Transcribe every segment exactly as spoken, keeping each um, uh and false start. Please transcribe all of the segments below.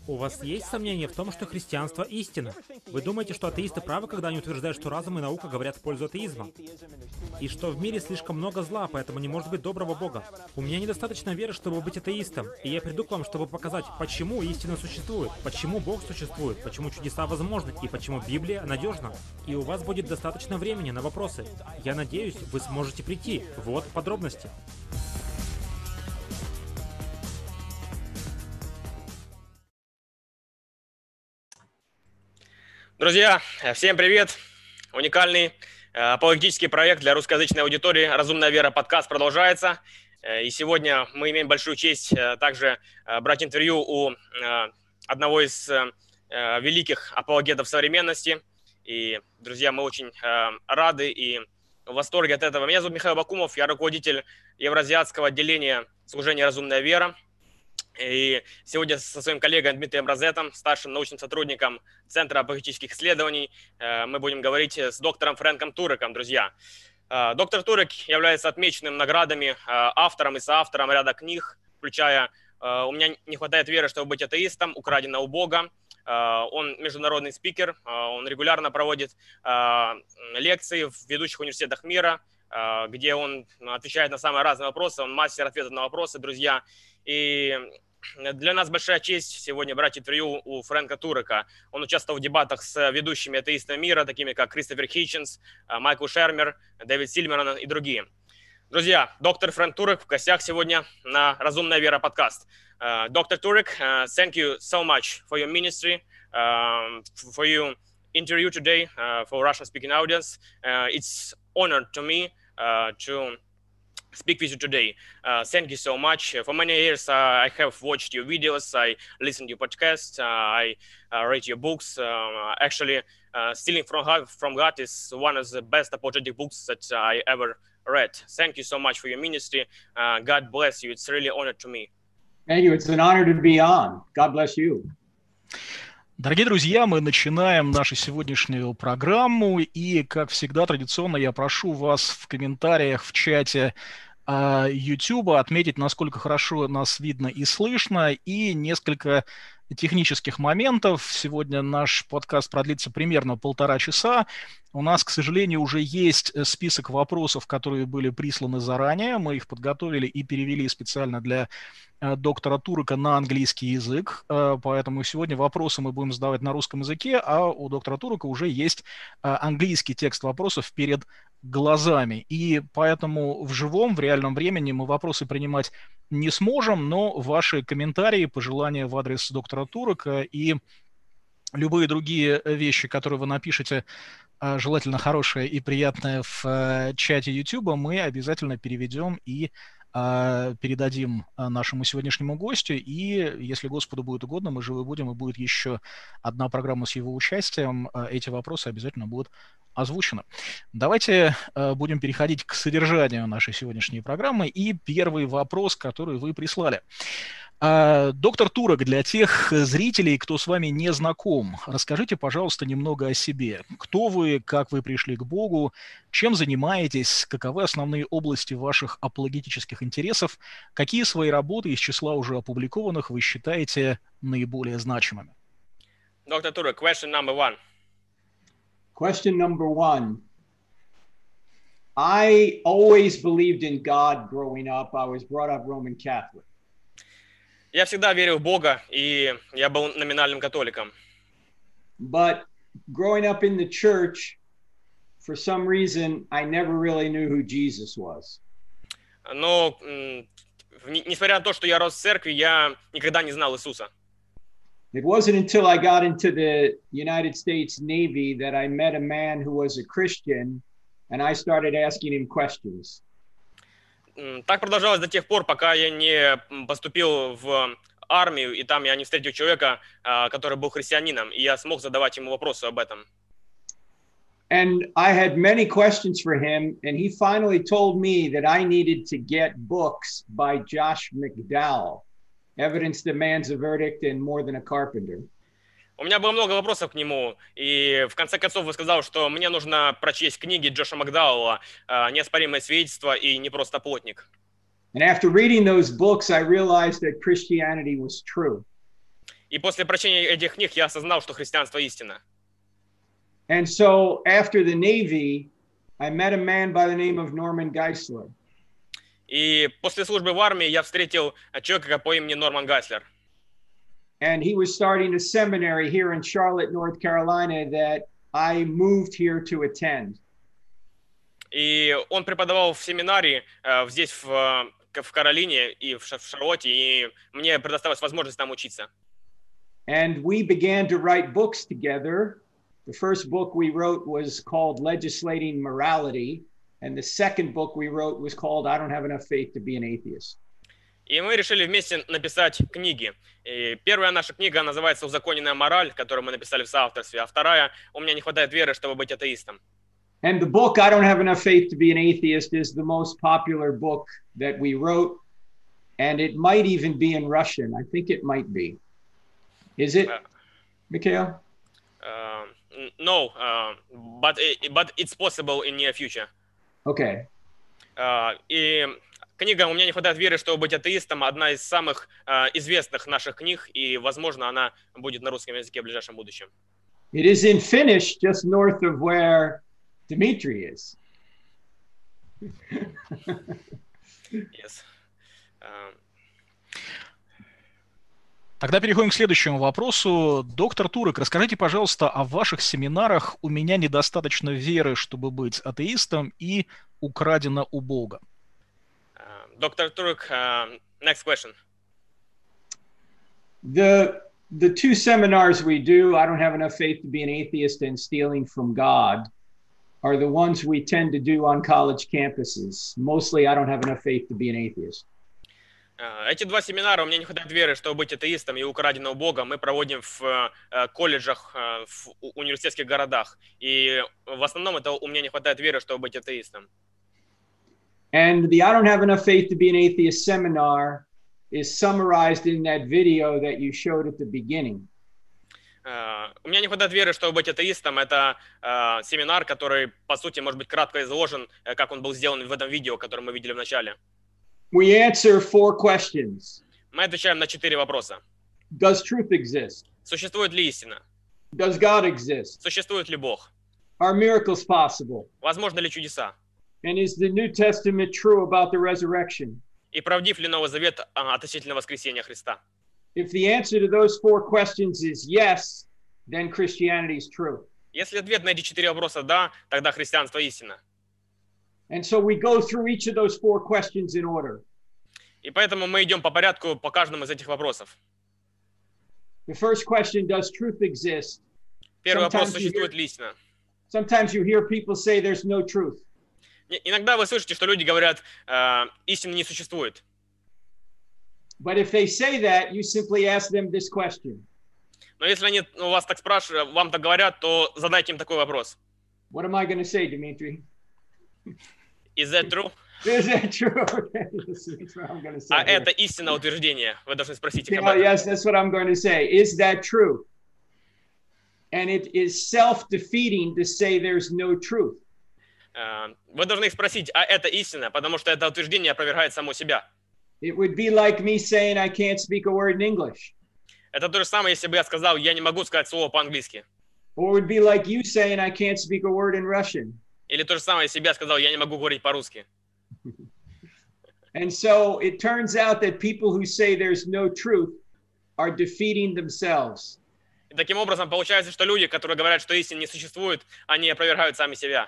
У вас есть сомнения в том, что христианство истина? Вы думаете, что атеисты правы, когда они утверждают, что разум и наука говорят в пользу атеизма? И что в мире слишком много зла, поэтому не может быть доброго Бога? У меня недостаточно веры, чтобы быть атеистом, и я приду к вам, чтобы показать, почему истина существует, почему Бог существует, почему чудеса возможны, и почему Библия надежна. И у вас будет достаточно времени на вопросы. Я надеюсь, вы сможете прийти. Вот подробности. Друзья, всем привет! Уникальный э, апологетический проект для русскоязычной аудитории «Разумная вера» подкаст продолжается. Э, и сегодня мы имеем большую честь э, также э, брать интервью у э, одного из э, великих апологетов современности. И, друзья, мы очень э, рады и в восторге от этого. Меня зовут Михаил Бакумов, я руководитель евразиатского отделения служения «Разумная вера». И сегодня со своим коллегой Дмитрием Розетом, старшим научным сотрудником Центра апологетических исследований, мы будем говорить с доктором Фрэнком Туреком, друзья. Доктор Турек является отмеченным наградами автором и соавтором ряда книг, включая «У меня не хватает веры, чтобы быть атеистом», «Украдено у Бога». Он международный спикер, он регулярно проводит лекции в ведущих университетах мира, где он отвечает на самые разные вопросы, он мастер ответов на вопросы, друзья. И для нас большая честь сегодня брать интервью у Фрэнка Турека. Он участвовал в дебатах с ведущими атеистами мира, такими как Кристофер Хитченс, Майкл Шермер, Дэвид Сильверман и другие. Друзья, доктор Фрэнк Турек в гостях сегодня на «Разумная вера» подкаст. Доктор Турек, thank you so much for your ministry, uh, for your interview today uh, for Russian-speaking audience. Uh, it's honor to me uh, to speak with you today. Uh, thank you so much. For many years, uh, I have watched your videos, I listened to your podcasts, uh, I uh, read your books. Uh, actually, uh, Stealing from God, from God is one of the best apologetic books that I ever read. Thank you so much for your ministry. Uh, God bless you. It's really an honor to me. Thank you. It's an honor to be on. God bless you. Дорогие друзья, мы начинаем нашу сегодняшнюю программу, и, как всегда, традиционно я прошу вас в комментариях в чате э, YouTube отметить, насколько хорошо нас видно и слышно, и несколько технических моментов. Сегодня наш подкаст продлится примерно полтора часа. У нас, к сожалению, уже есть список вопросов, которые были присланы заранее. Мы их подготовили и перевели специально для доктора Турека на английский язык, поэтому сегодня вопросы мы будем задавать на русском языке, а у доктора Турека уже есть английский текст вопросов перед глазами, и поэтому в живом, в реальном времени мы вопросы принимать не сможем, но ваши комментарии, пожелания в адрес доктора Турека и любые другие вещи, которые вы напишете, желательно хорошие и приятные в чате YouTube, мы обязательно переведем и передадим нашему сегодняшнему гостю, и, если Господу будет угодно, мы живы будем, и будет еще одна программа с его участием, эти вопросы обязательно будут озвучены. Давайте будем переходить к содержанию нашей сегодняшней программы, и первый вопрос, который вы прислали. Доктор Турек, для тех зрителей, кто с вами не знаком, расскажите, пожалуйста, немного о себе. Кто вы, как вы пришли к Богу, чем занимаетесь, каковы основные области ваших апологетических интересов, какие свои работы из числа уже опубликованных вы считаете наиболее значимыми? Доктор Турек, question number one. Question number one. I always believed in God growing up. I was brought up Roman Catholic. Я всегда верил в Бога, и я был номинальным католиком. But growing up in the church, for some reason, I never really knew who Jesus was. Но, несмотря на то, что я рос в церкви, я никогда не знал Иисуса. It wasn't until I got into the United States Navy that I met a man who was a Christian, and I started asking him questions. Так продолжалось до тех пор, пока я не поступил в армию, и там я не встретил человека, который был христианином, и я смог задавать ему вопросы об этом. And I had many questions for him, and he finally told me that I needed to get books by Josh McDowell, Evidence Demands a Verdict and More Than a Carpenter. У меня было много вопросов к нему, и в конце концов он сказал, что мне нужно прочесть книги Джоша Макдауэлла «Неоспоримое свидетельство» и «Не просто плотник». And after reading those books, I realized that Christianity was true. И после прочтения этих книг я осознал, что христианство истина. And so after the Navy, I met a man by the name of Norman Geisler. И после службы в армии я встретил человека по имени Норман Гайслер. And he was starting a seminary here in Charlotte, North Carolina, that I moved here to attend. И он преподавал в семинарии э, здесь, в, в Каролине и в, в Шарлотте, и мне предоставилась возможность там учиться. And we began to write books together. The first book we wrote was called Legislating Morality, and the second book we wrote was called I Don't Have Enough Faith to Be an Atheist. И мы решили вместе написать книги. И первая наша книга называется «Узаконенная мораль», которую мы написали в соавторстве, а вторая «У меня не хватает веры, чтобы быть атеистом». And the book, I Don't Have Enough Faith to Be an Atheist, is the most popular book that we wrote, and it might even be in Russian. I think it might be. Is it, Uh, Mikhail? Uh, no, uh, but, but it's possible in near future. Okay. Uh, и книга «У меня не хватает веры, чтобы быть атеистом» одна из самых uh, известных наших книг, и, возможно, она будет на русском языке в ближайшем будущем. It is in Finnish, just north of where Dmitry is. Yes. Uh, Тогда переходим к следующему вопросу. Доктор Турек, расскажите, пожалуйста, о ваших семинарах «У меня недостаточно веры, чтобы быть атеистом» и «Украдено у Бога». uh, Доктор Турек, uh, next question. The, the two seminars we do, I Don't Have Enough Faith to Be an Atheist and Stealing from God, are the ones we tend to do on college campuses. Mostly, I Don't Have Enough Faith to Be an Atheist. Эти два семинара «У меня не хватает веры, чтобы быть атеистом» и «Украдено у Бога» мы проводим в колледжах, в университетских городах. И в основном это «У меня не хватает веры, чтобы быть атеистом». And the I Don't Have Enough Faith to Be an Atheist seminar is summarized in that video that you showed at the beginning. «У меня не хватает веры, чтобы быть атеистом» — это семинар, который, по сути, может быть кратко изложен, как он был сделан в этом видео, которое мы видели в начале. We answer four questions. Мы отвечаем на четыре вопроса. Does truth exist? Существует ли истина? Does God exist? Существует ли Бог? Are miracles possible? Возможно ли чудеса? And is the New Testament true about the resurrection? И правдив ли Новый Завет относительно воскресения Христа? If the answer to those four questions is yes, then Christianity is true. Если ответ на эти четыре вопроса «да», тогда христианство истина. And so we go through each of those four questions in order. И поэтому мы идем по порядку по каждому из этих вопросов. The first question, does truth exist? Первый вопрос: Sometimes you существует hear- ли истина? Sometimes you hear people say there's no truth. И- Иногда вы слышите, что люди говорят, э, истины не существует. But if they say that, you simply ask them this question. Но если они у вас так spрашивают, вам так говорят, то задайте им такой вопрос. What am I going to say, Dmitry? Is that true? Is that true? Okay, that's what I'm going to say. А here. это истина утверждение. Вы должны спросить их об Yeah, этом. yes, that's what I'm going to say. Is that true? And it is self-defeating to say there's no truth. Э, Вы должны их спросить, а это истина, потому что это утверждение опровергает само себя. It would be like me saying I can't speak a word in English. Это то же самое, если бы я сказал, я не могу сказать слово по-английски. Or it would be like you saying I can't speak a word in Russian. Или то же самое, если бы я сказал, я не могу говорить по-русски. And so it turns out that people who say there's no truth are defeating themselves. И таким образом получается, что люди, которые говорят, что истины не существует, они опровергают сами себя.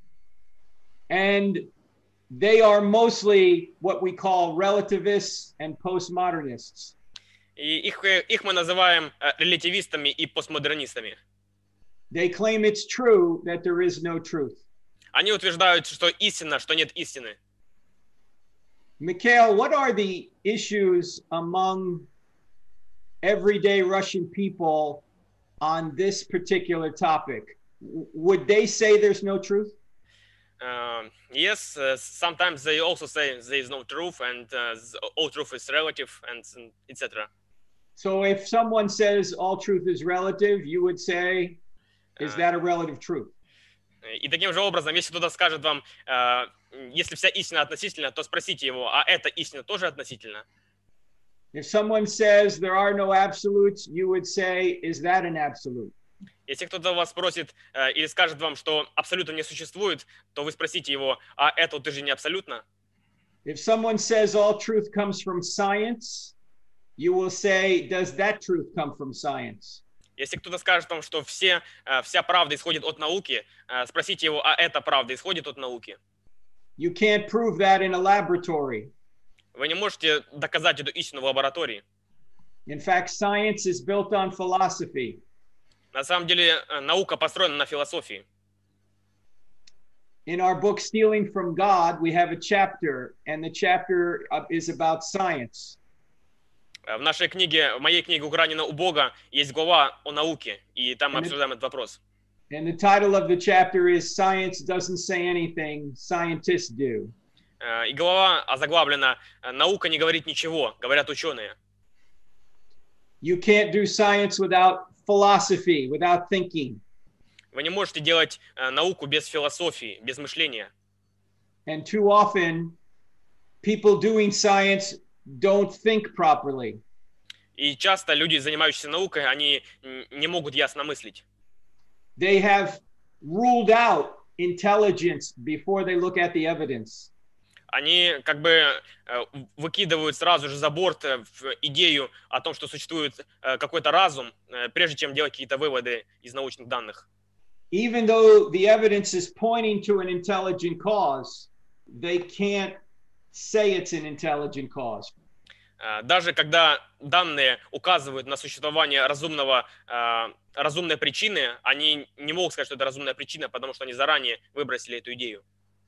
And they are mostly what we call relativists and postmodernists. И их, э, их мы называем э, релятивистами и постмодернистами. They claim it's true that there is no truth. Они утверждают, что истина, что нет истины. Mikhail, what are the issues among everyday Russian people on this particular topic? W- Would they say there's no truth? Uh, yes, uh, sometimes they also say there is no truth and uh, all truth is relative and et cetera. So if someone says all truth is relative, you would say, is that a relative truth? И таким же образом, если кто-то скажет вам, э, если вся истина относительна, то спросите его, а эта истина тоже относительна? If someone says there are no absolutes, you would say, is that an absolute? Если кто-то вас спросит э, или скажет вам, что абсолюта не существует, то вы спросите его, а это ты же не абсолютно? If someone says all truth comes from science, you will say, does that truth come from science? Если кто-то скажет вам, что все, э, вся правда исходит от науки, э, спросите его, а эта правда исходит от науки? You can't prove that in a laboratory. Вы не можете доказать эту истину в лаборатории. In fact, science is built on philosophy. На самом деле э, наука построена на философии. In our book, Stealing from God, we have a chapter, and the chapter uh, is about science. Э, В нашей книге, в моей книге «Украдено у Бога» есть глава о науке, и там мы And it- обсуждаем этот вопрос. And the title of the chapter is Science Doesn't Say Anything, Scientists Do. Э, И глава озаглавлена э, «Наука не говорит ничего, говорят ученые». You can't do science without philosophy, without thinking. Вы не можете делать э, науку без философии, без мышления. And too often, people doing science don't think properly. И часто люди, занимающиеся наукой, они м, не могут ясно мыслить. They have ruled out intelligence before they look at the evidence. Они как бы э, выкидывают сразу же за борт э, в идею о том, что существует э, какой-то разум, э, прежде чем делать какие-то выводы из научных данных. Even though the evidence is pointing to an intelligent cause, they can't say it's an intelligent cause. Э, Даже когда данные указывают на существование разумного, э, разумной причины, они не могут сказать, что это разумная причина, потому что они заранее выбросили эту идею.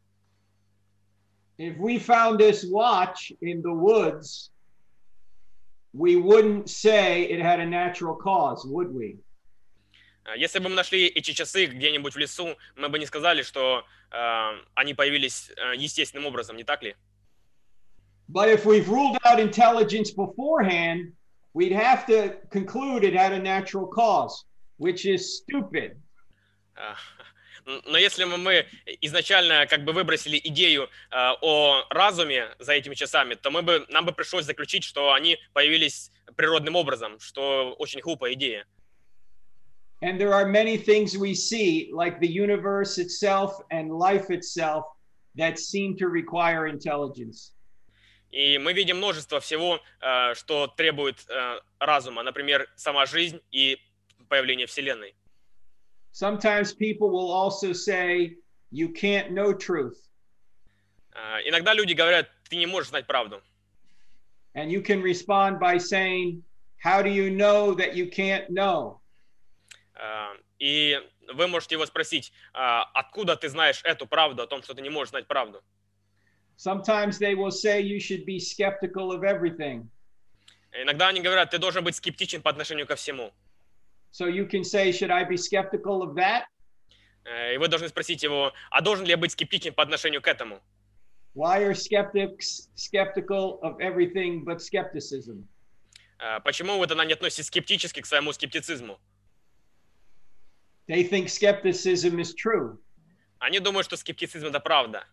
If we found this watch in the woods, we wouldn't say it had a natural cause, would we? Э, Если бы мы нашли эти часы где-нибудь в лесу, мы бы не сказали, что э, они появились э, естественным образом, не так ли? But if we've ruled out intelligence beforehand, we'd have to conclude it had a natural cause, which is stupid. Э, Но если мы, мы изначально как бы выбросили идею э, о разуме за этими часами, то мы бы, нам бы пришлось заключить, что они появились природным образом, что очень глупая идея. And there are many things we see, like the universe itself and life itself, that seem to require intelligence. И мы видим множество всего, э, что требует э, разума, например, сама жизнь и появление Вселенной. Sometimes people will also say, you can't know truth. Э, Иногда люди говорят, ты не можешь знать правду. And you can respond by saying, how do you know that you can't know? Э, И вы можете его спросить, «А откуда ты знаешь эту правду, о том, что ты не можешь знать правду? Sometimes they will say you should be skeptical of everything. Иногда они говорят, ты должен быть скептичен по отношению ко всему. So you can say, should I be skeptical of that? Э, И вы должны спросить его, а должен ли я быть скептичен по отношению к этому? Why are skeptics skeptical of everything but skepticism? Э, Почему вы тогда не относитесь скептически к своему скептицизму? They think skepticism is true. Они думают, что скептицизм — это правда.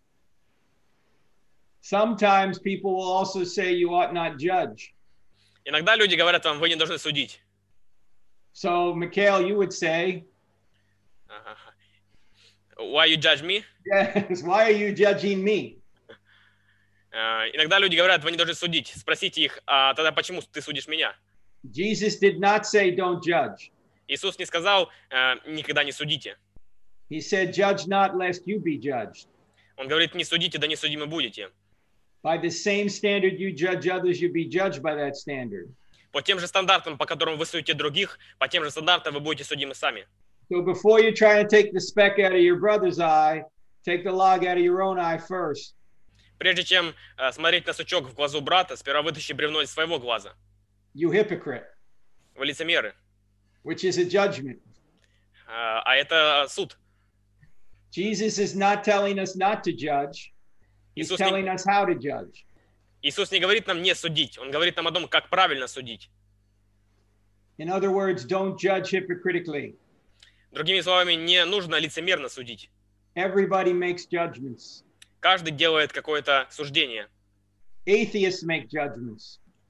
Sometimes people will also say you ought not judge. Иногда люди говорят вам, вы не должны судить. So, Mikhail, you would say, Ага. Why you judge me? yes, why are you judging me? Э, Иногда люди говорят, вы не должны судить. Спросите их, а тогда почему ты судишь меня? Jesus did not say don't judge. Иисус не сказал, э, никогда не судите. He said, judge not lest you be judged. Он говорит, не судите, да не судимы будете. By the same standard you judge others, you be judged by that standard. По тем же стандартам, по которым вы судите других, по тем же стандартам вы будете судимы сами. So before you try to take the speck out of your brother's eye, take the log out of your own eye first. Прежде чем э, смотреть на сучок в глазу брата, сперва вытащи бревно из своего глаза. You hypocrite, Вы лицемеры. which is a judgment. Э, А это суд. Jesus is not telling us not to judge. He's Иисус telling не, us how to judge. Иисус не говорит нам не судить. Он говорит нам о том, как правильно судить. In other words, don't judge hypocritically. Другими словами, не нужно лицемерно судить. Everybody makes judgments. Каждый делает какое-то суждение. Atheists make judgments.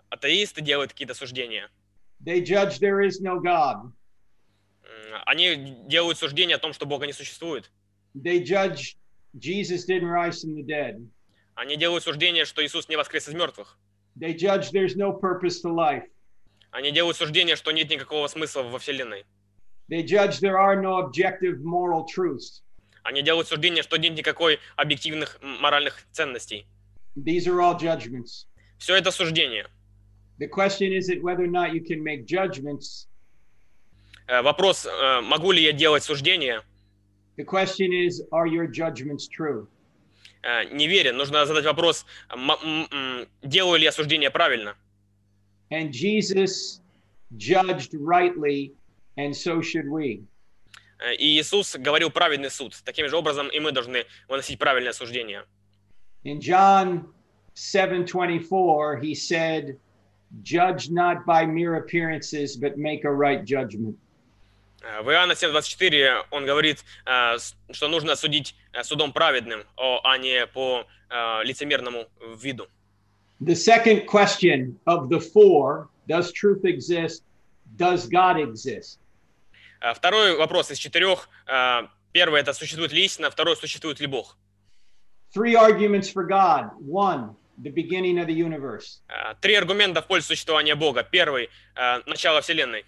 атеисты делают какие-то суждения. They judge there is no God. М, Они делают суждения о том, что Бога не существует. They judge Jesus didn't rise from the dead. Они делают суждение, что Иисус не воскрес из мертвых. They judge there's no purpose to life. Они делают суждение, что нет никакого смысла во Вселенной. They judge there are no objective moral truths. Они делают суждение, что нет никакой объективных м, моральных ценностей. These are all judgments. Все это суждение. The question isn't whether or not you can make judgments. Э, Вопрос, э, могу ли я делать суждения? The question is, are your judgments true? Э, Не верен. Нужно задать вопрос, м- м- м, делаю ли я суждения правильно? And Jesus judged rightly, and so should we. Э, И Иисус говорил праведный суд. Таким же образом и мы должны выносить правильное суждение. In John seven twenty-four, he said, "Judge not by mere appearances, but make a right judgment." Э, В Иоанна семь двадцать четыре он говорит, э, с- что нужно судить э, судом праведным, о- а не по э, лицемерному виду. The second question of the four, does truth exist? Does God exist? Э, Второй вопрос из четырех. э, Первый — это существует ли истина, второй — существует ли Бог. Three arguments for God. One, the beginning of the universe. Э, Три аргумента в пользу существования Бога. Первый — начало Вселенной.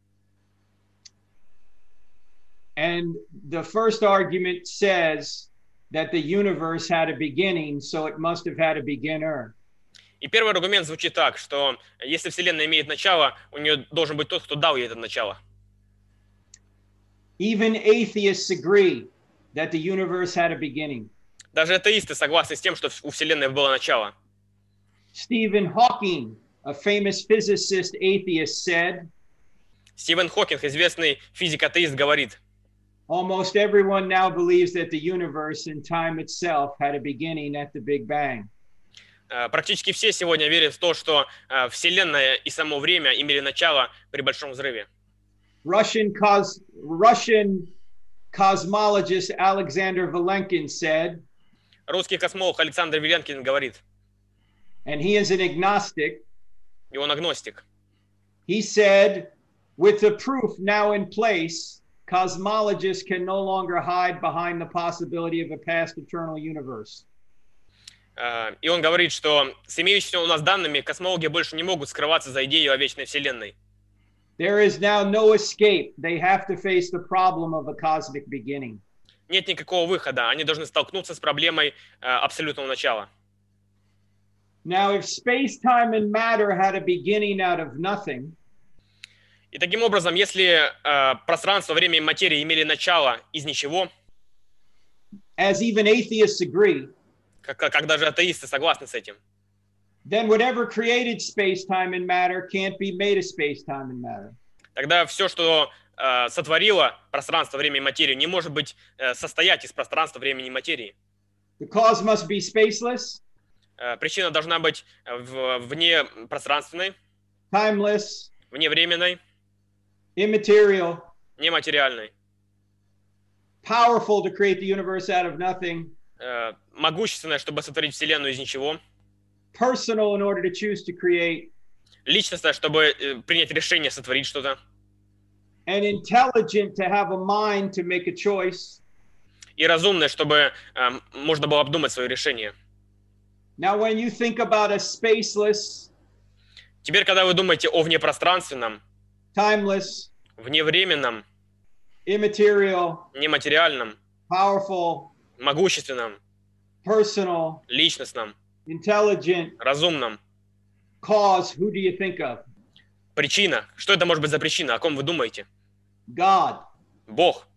And the first argument says that the universe had a beginning, so it must have had a beginner. И первый аргумент звучит так, что если Вселенная имеет начало, у нее должен быть тот, кто дал ей это начало. Even atheists agree that the universe had a beginning. Даже атеисты согласны с тем, что у Вселенной было начало. Stephen Hawking, a famous physicist atheist, said, Стивен Хокинг, известный физик-атеист, говорит, almost everyone now believes that the universe and time itself had a beginning at the Big Bang. э, практически все сегодня верят в то, что э, Вселенная и само время имели начало при Большом взрыве. Russian, cos- Russian cosmologist Alexander Vilenkin said, Русский космолог Александр Виленкин говорит, and he is an agnostic, и он агностик. he said, with the proof now in place, cosmologists can no longer hide behind the possibility of a past eternal universe. Э, И он говорит, что с имеющимися у нас данными космологи больше не могут скрываться за идею о вечной Вселенной. There is now no escape. They have to face the problem of a cosmic beginning. Нет никакого выхода. Они должны столкнуться с проблемой э, абсолютного начала. Now, if space, time, and matter had a beginning out of nothing, И таким образом, если э, пространство, время и материя имели начало из ничего, as even atheists agree, как, как как даже атеисты согласны с этим, then whatever created space, time, and matter can't be made of space, time, and matter. тогда все, что э, сотворило пространство, время и материю, не может быть э, состоять из пространства, времени и материи. The cause must be spaceless, Э, причина должна быть в, вне пространственной, timeless, вне временной, immaterial, нематериальной, powerful to create the universe out of nothing, э, могущественной, чтобы сотворить Вселенную из ничего, personal in order to choose to create, личностная, чтобы э, принять решение сотворить что-то, and intelligent to have a mind to make a choice. и разумная, чтобы э, можно было обдумать свое решение. Now, when you think about a spaceless, Теперь, когда вы думаете о внепространственном, timeless, вневременном, immaterial, нематериальном, powerful, могущественном, personal, личностном, intelligent, разумном, cause, who do you think of? причина. Что это может быть за причина? О ком вы думаете? God. Бог.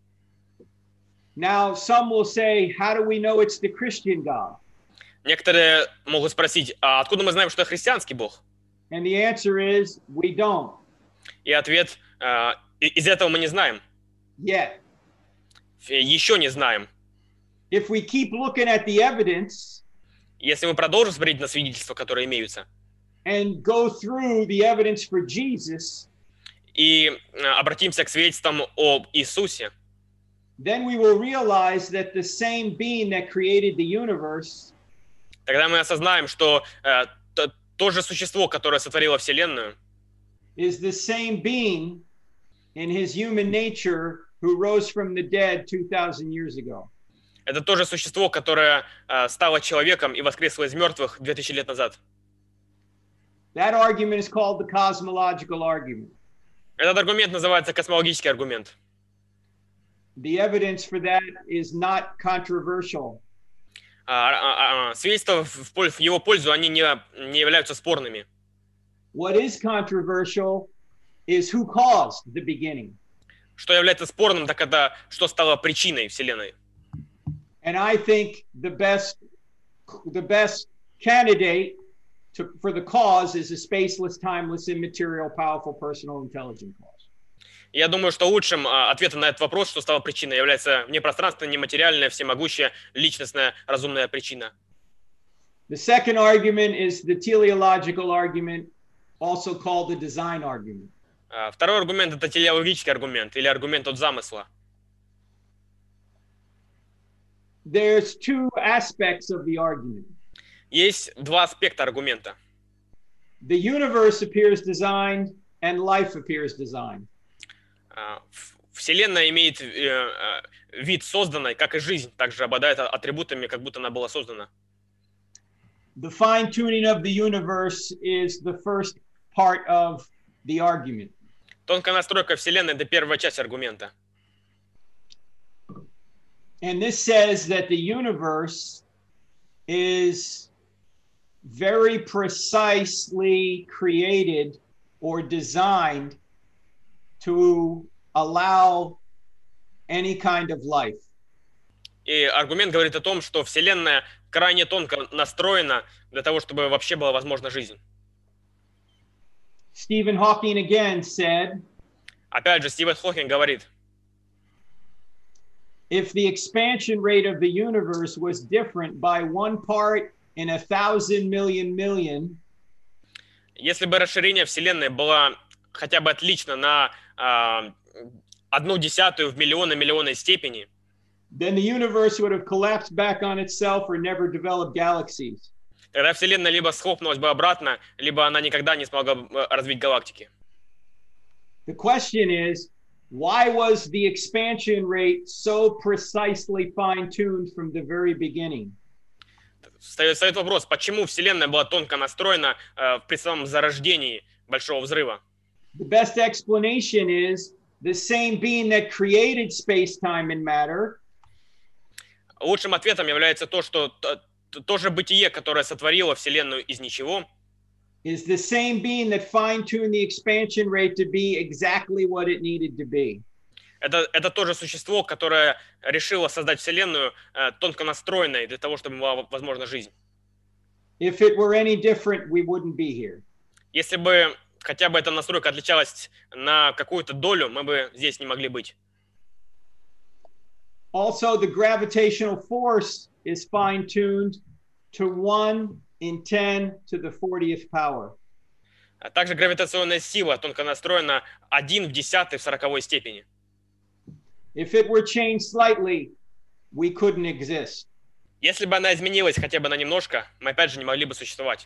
Now, some will say, how do we know it's the Christian God? Некоторые могут спросить, а откуда мы знаем, что это христианский Бог? And the answer is, we don't И ответ, э, и- из этого мы не знаем. yet. Э, Еще не знаем. If we keep looking at the evidence Если мы продолжим смотреть на свидетельства, которые имеются, and go through the evidence for Jesus, и э, обратимся к свидетельствам об Иисусе, then we will realize that the same being that created the universe тогда мы осознаем, что э, т- то же существо, которое сотворило Вселенную, is the same being in his human nature who rose from the dead two thousand years ago. это то же существо, которое э, стало человеком и воскресло из мертвых две тысячи лет назад. That argument is called the cosmological argument. Этот аргумент называется космологический аргумент. The evidence for that is not controversial. А, а, а, свидетельства в, пользу, в его пользу, они не, не являются спорными. What is controversial is who caused the beginning. Что является спорным, так это что стало причиной Вселенной. And I think the best, the best candidate to, for the cause is a spaceless, timeless, immaterial, powerful, personal, intelligent cause. Я думаю, что лучшим а, ответом на этот вопрос, что стало причиной, является непространственная, нематериальная, всемогущая, личностная, разумная причина. The second argument is the teleological argument, also called the design argument. А, второй аргумент – это телеологический аргумент или аргумент от замысла. There's two aspects of the argument. Есть два аспекта аргумента. The universe appears designed and life appears designed. А, Вселенная имеет э, э, вид созданной, как и жизнь, также обладает атрибутами, как будто она была создана. The fine-tuning of the universe is the first part of the argument. Тонкая настройка Вселенной – это первая часть аргумента. And this says that the universe is very precisely created or designed to allow any kind of life. И аргумент говорит о том, что Вселенная крайне тонко настроена для того, чтобы вообще была возможна жизнь. Stephen Hawking again said, Опять же, Стивен Хокинг говорит, if the expansion rate of the universe was different by one part in a thousand million million, если бы расширение Вселенной было хотя бы отлично на э, одну десятую в миллионы миллионной степени, then the universe would have collapsed back on itself or never developed galaxies. тогда Вселенная либо схлопнулась бы обратно, либо она никогда не смогла бы развить галактики. The question is, why was the expansion rate so precisely fine-tuned from the very beginning? Встает, встает вопрос, почему Вселенная была тонко настроена э, при самом зарождении Большого Взрыва? The best explanation is the same being that created space-time and matter Лучшим ответом является то, что то, то же бытие, которое сотворило Вселенную из ничего, is the same being that fine-tuned the expansion rate to be exactly what it needed to be. это, это то же существо, которое решило создать Вселенную э, тонко настроенной для того, чтобы была возможна жизнь. If it were any different, we wouldn't be here. Если бы хотя бы эта настройка отличалась на какую-то долю, мы бы здесь не могли быть. Also, the gravitational force is fine-tuned to one in ten to the fortieth power. А также гравитационная сила тонко настроена один в десятой в сороковой степени. If it were changed slightly, we couldn't exist. Если бы она изменилась хотя бы на немножко, мы опять же не могли бы существовать.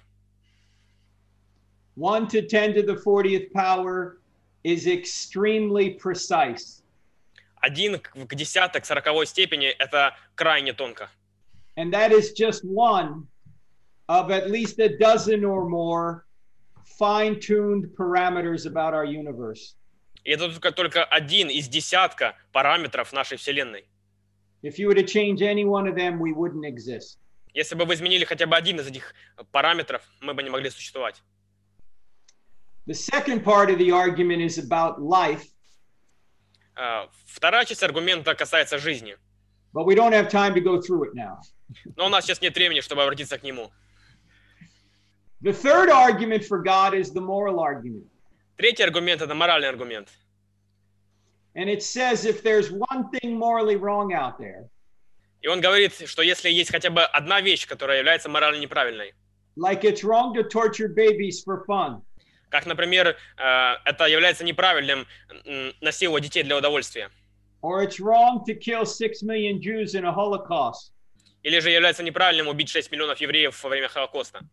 one to ten to the fortieth power is extremely precise. один к десятой, к сороковой степени – это крайне тонко. And that is just one of at least a dozen or more fine-tuned parameters about our universe. И это только, только один из десятка параметров нашей Вселенной. If you were to change any one of them, we wouldn't exist. Если бы вы изменили хотя бы один из этих параметров, мы бы не могли существовать. The second part of the argument is about life. Uh, вторая часть аргумента касается жизни. But we don't have time to go through it now. Но у нас сейчас нет времени, чтобы обратиться к нему. The third argument for God is the moral argument. Третий аргумент – это моральный аргумент. And it says if there's one thing morally wrong out there, И он говорит, что если есть хотя бы одна вещь, которая является морально неправильной, like it's wrong to torture babies for fun, как, например, uh, это является неправильным насиловать детей для удовольствия, or it's wrong to kill six million Jews in a Holocaust, или же является неправильным убить шесть миллионов евреев во время Холокоста,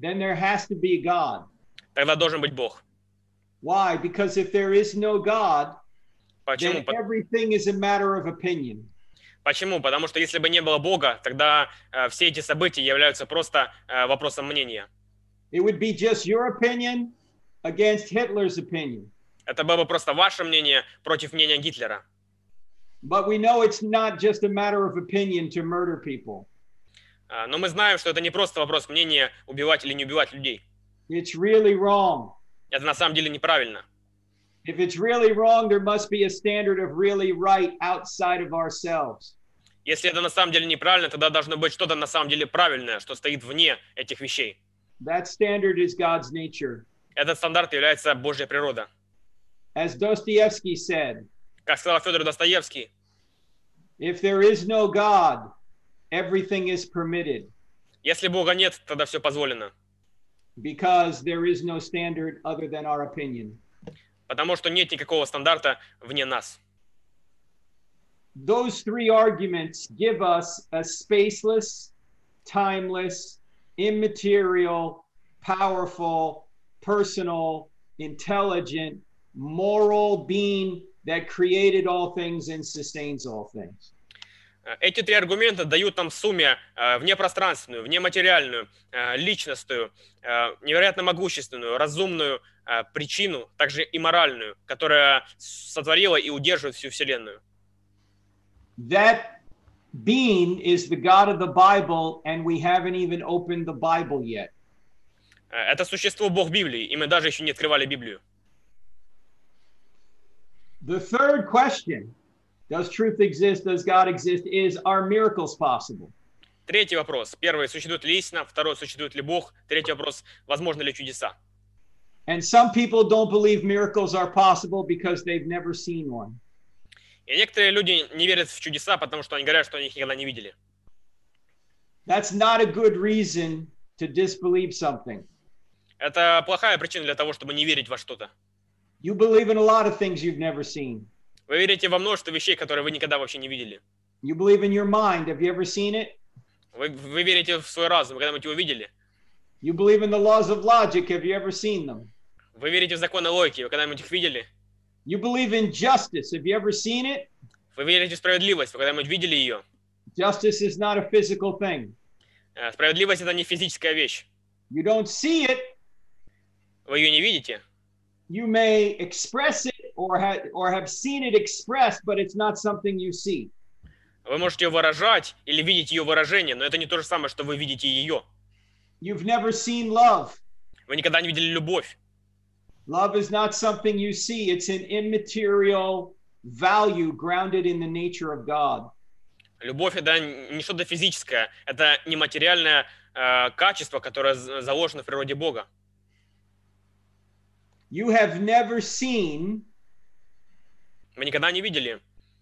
then there has to be God. Тогда должен быть Бог. Why? Because if there is no God, Почему? then everything is a matter of opinion. Почему? Потому что если бы не было Бога, тогда э, все эти события являются просто э, вопросом мнения. It would be just your opinion against Hitler's opinion. Это было бы просто ваше мнение против мнения Гитлера. But we know it's not just a matter of opinion to murder people. Э, но мы знаем, что это не просто вопрос мнения, убивать или не убивать людей. It's really wrong. Это на самом деле неправильно. If it's really wrong, there must be a standard of really right outside of ourselves. Если это на самом деле неправильно, тогда должно быть что-то на самом деле правильное, что стоит вне этих вещей. That standard is God's nature. Этот стандарт является Божья природа. As Dostoevsky said, Как сказал Федор Достоевский, if there is no God, everything is permitted, если Бога нет, тогда все позволено. because there is no standard other than our opinion. Потому что нет никакого стандарта вне нас. Those three arguments give us a spaceless, timeless, immaterial, powerful, personal, intelligent, moral being that created all things and sustains all things. Эти три аргумента дают нам в сумме э, внепространственную, внематериальную, э, личностную, э, невероятно могущественную, разумную э, причину, также и моральную, которая сотворила и удерживает всю Вселенную. That being is the God of the Bible, and we haven't even opened the Bible yet. Э, Это существо Бог Библии, и мы даже еще не открывали Библию. The third question, does truth exist, does God exist, is are miracles possible? Третий вопрос. Первый, существует ли истина? Второй, существует ли Бог? Третий вопрос, возможны ли чудеса? And some people don't believe miracles are possible because they've never seen one. И некоторые люди не верят в чудеса, потому что они говорят, что они их никогда не видели. That's not a good reason to disbelieve something. Это плохая причина для того, чтобы не верить во что-то. You believe in a lot of things you've never seen. Вы верите во множество вещей, которые вы никогда вообще не видели. You believe in your mind. Have you ever seen it? Вы, вы верите в свой разум, вы когда-нибудь его видели? You believe in the laws of logic. Have you ever seen them? Вы верите в законы логики, вы когда-нибудь их видели? You believe in justice. Have you ever seen it? Вы верите в справедливость, вы когда-нибудь видели ее? Justice is not a physical thing. Э, Справедливость — это не физическая вещь. You don't see it. Вы ее не видите. You may express it or, ha- or have seen it expressed, but it's not something you see. Вы можете ее выражать или видеть ее выражение, но это не то же самое, что вы видите ее. You've never seen love. Вы никогда не видели любовь. Love is not something you see. It's an immaterial value grounded in the nature of God. Любовь — это не что-то физическое, это нематериальное э, качество, которое з- заложено в природе Бога. You have never seen Вы никогда не видели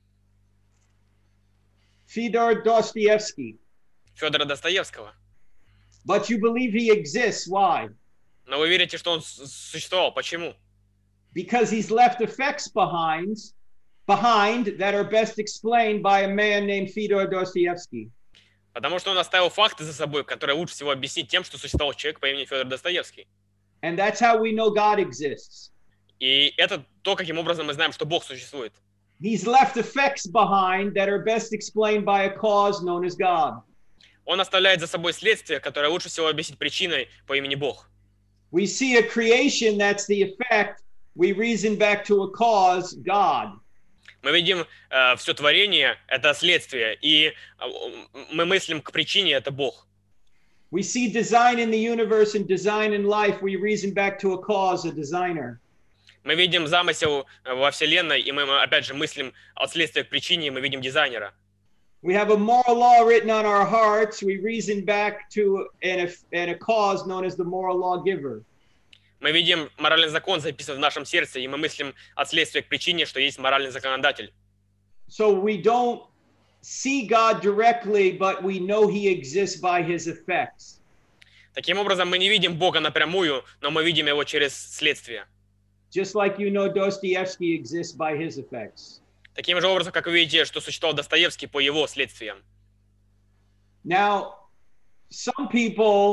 Fyodor Dostoevsky, Федора Достоевского, but you believe he exists. Why? но вы верите, что он с- существовал. Почему? Because he's left effects behind, behind that are best explained by a man named Fyodor Dostoevsky. Потому что он оставил факты за собой, которые лучше всего объяснить тем, что существовал человек по имени Федор Достоевский. And that's how we know God exists. И это то, каким образом мы знаем, что Бог существует. He's left effects behind that are best explained by a cause known as God. Он оставляет за собой следствие, которое лучше всего объяснить причиной по имени Бог. We see a creation that's the effect. We reason back to a cause, God. Мы видим э, все творение — это следствие, и э, мы мыслим к причине — это Бог. We see design in the universe and design in life. We reason back to a cause, a designer. Мы видим замысел во Вселенной, и мы, опять же, мыслим от следствия к причине, и мы видим дизайнера. We have a moral law written on our hearts. We reason back to an, an, a cause known as the moral lawgiver. Мы видим моральный закон, записан в нашем сердце, и мы мыслим от следствия к причине, что есть моральный законодатель. So we don't see God directly, but we know he exists by his effects. Таким образом, мы не видим Бога напрямую, но мы видим его через следствие. Just like you know Dostoevsky exists by his effects. Таким же образом, как вы видите, что существовал Достоевский по его следствиям. Now, some people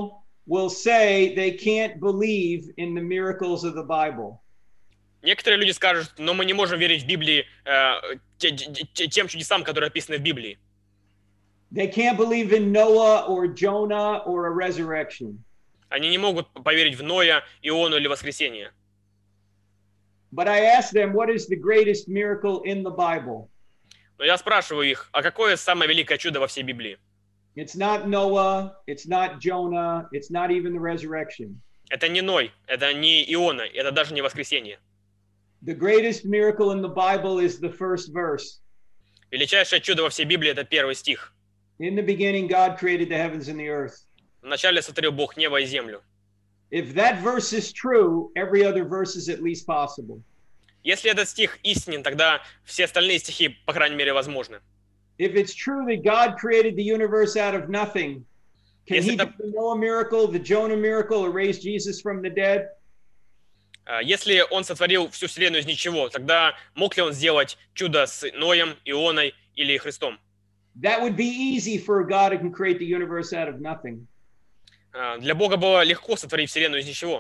will say they can't believe in the miracles of the Bible. Некоторые люди скажут, но мы не можем верить в Библии э, те- те- тем чудесам, которые описаны в Библии. They can't believe in Noah or Jonah or a resurrection. Они не могут поверить в Ноя, Иону или воскресение. But I asked them, what is the greatest miracle in the Bible? Но я спрашиваю их, а какое самое великое чудо во всей Библии? It's not Noah, it's not Jonah, it's not even the resurrection. Это не Ной, это не Иона, это даже не воскресение. The greatest miracle in the Bible is the first verse. Величайшее чудо во всей Библии – это первый стих. In the beginning, God created the heavens and the earth. Вначале сотворил Бог небо и землю. If that verse is true, every other verse is at least possible. Если этот стих истинен, тогда все остальные стихи, по крайней мере, возможны. If it's true that God created the universe out of nothing, can Если he это- do the Noah miracle, the Jonah miracle, or raise Jesus from the dead? А, Если он сотворил всю вселенную из ничего, тогда мог ли он сделать чудо с Ноем, Ионой или Христом? That would be easy for a God who can create the universe out of nothing. А, Для Бога было легко сотворить вселенную из ничего.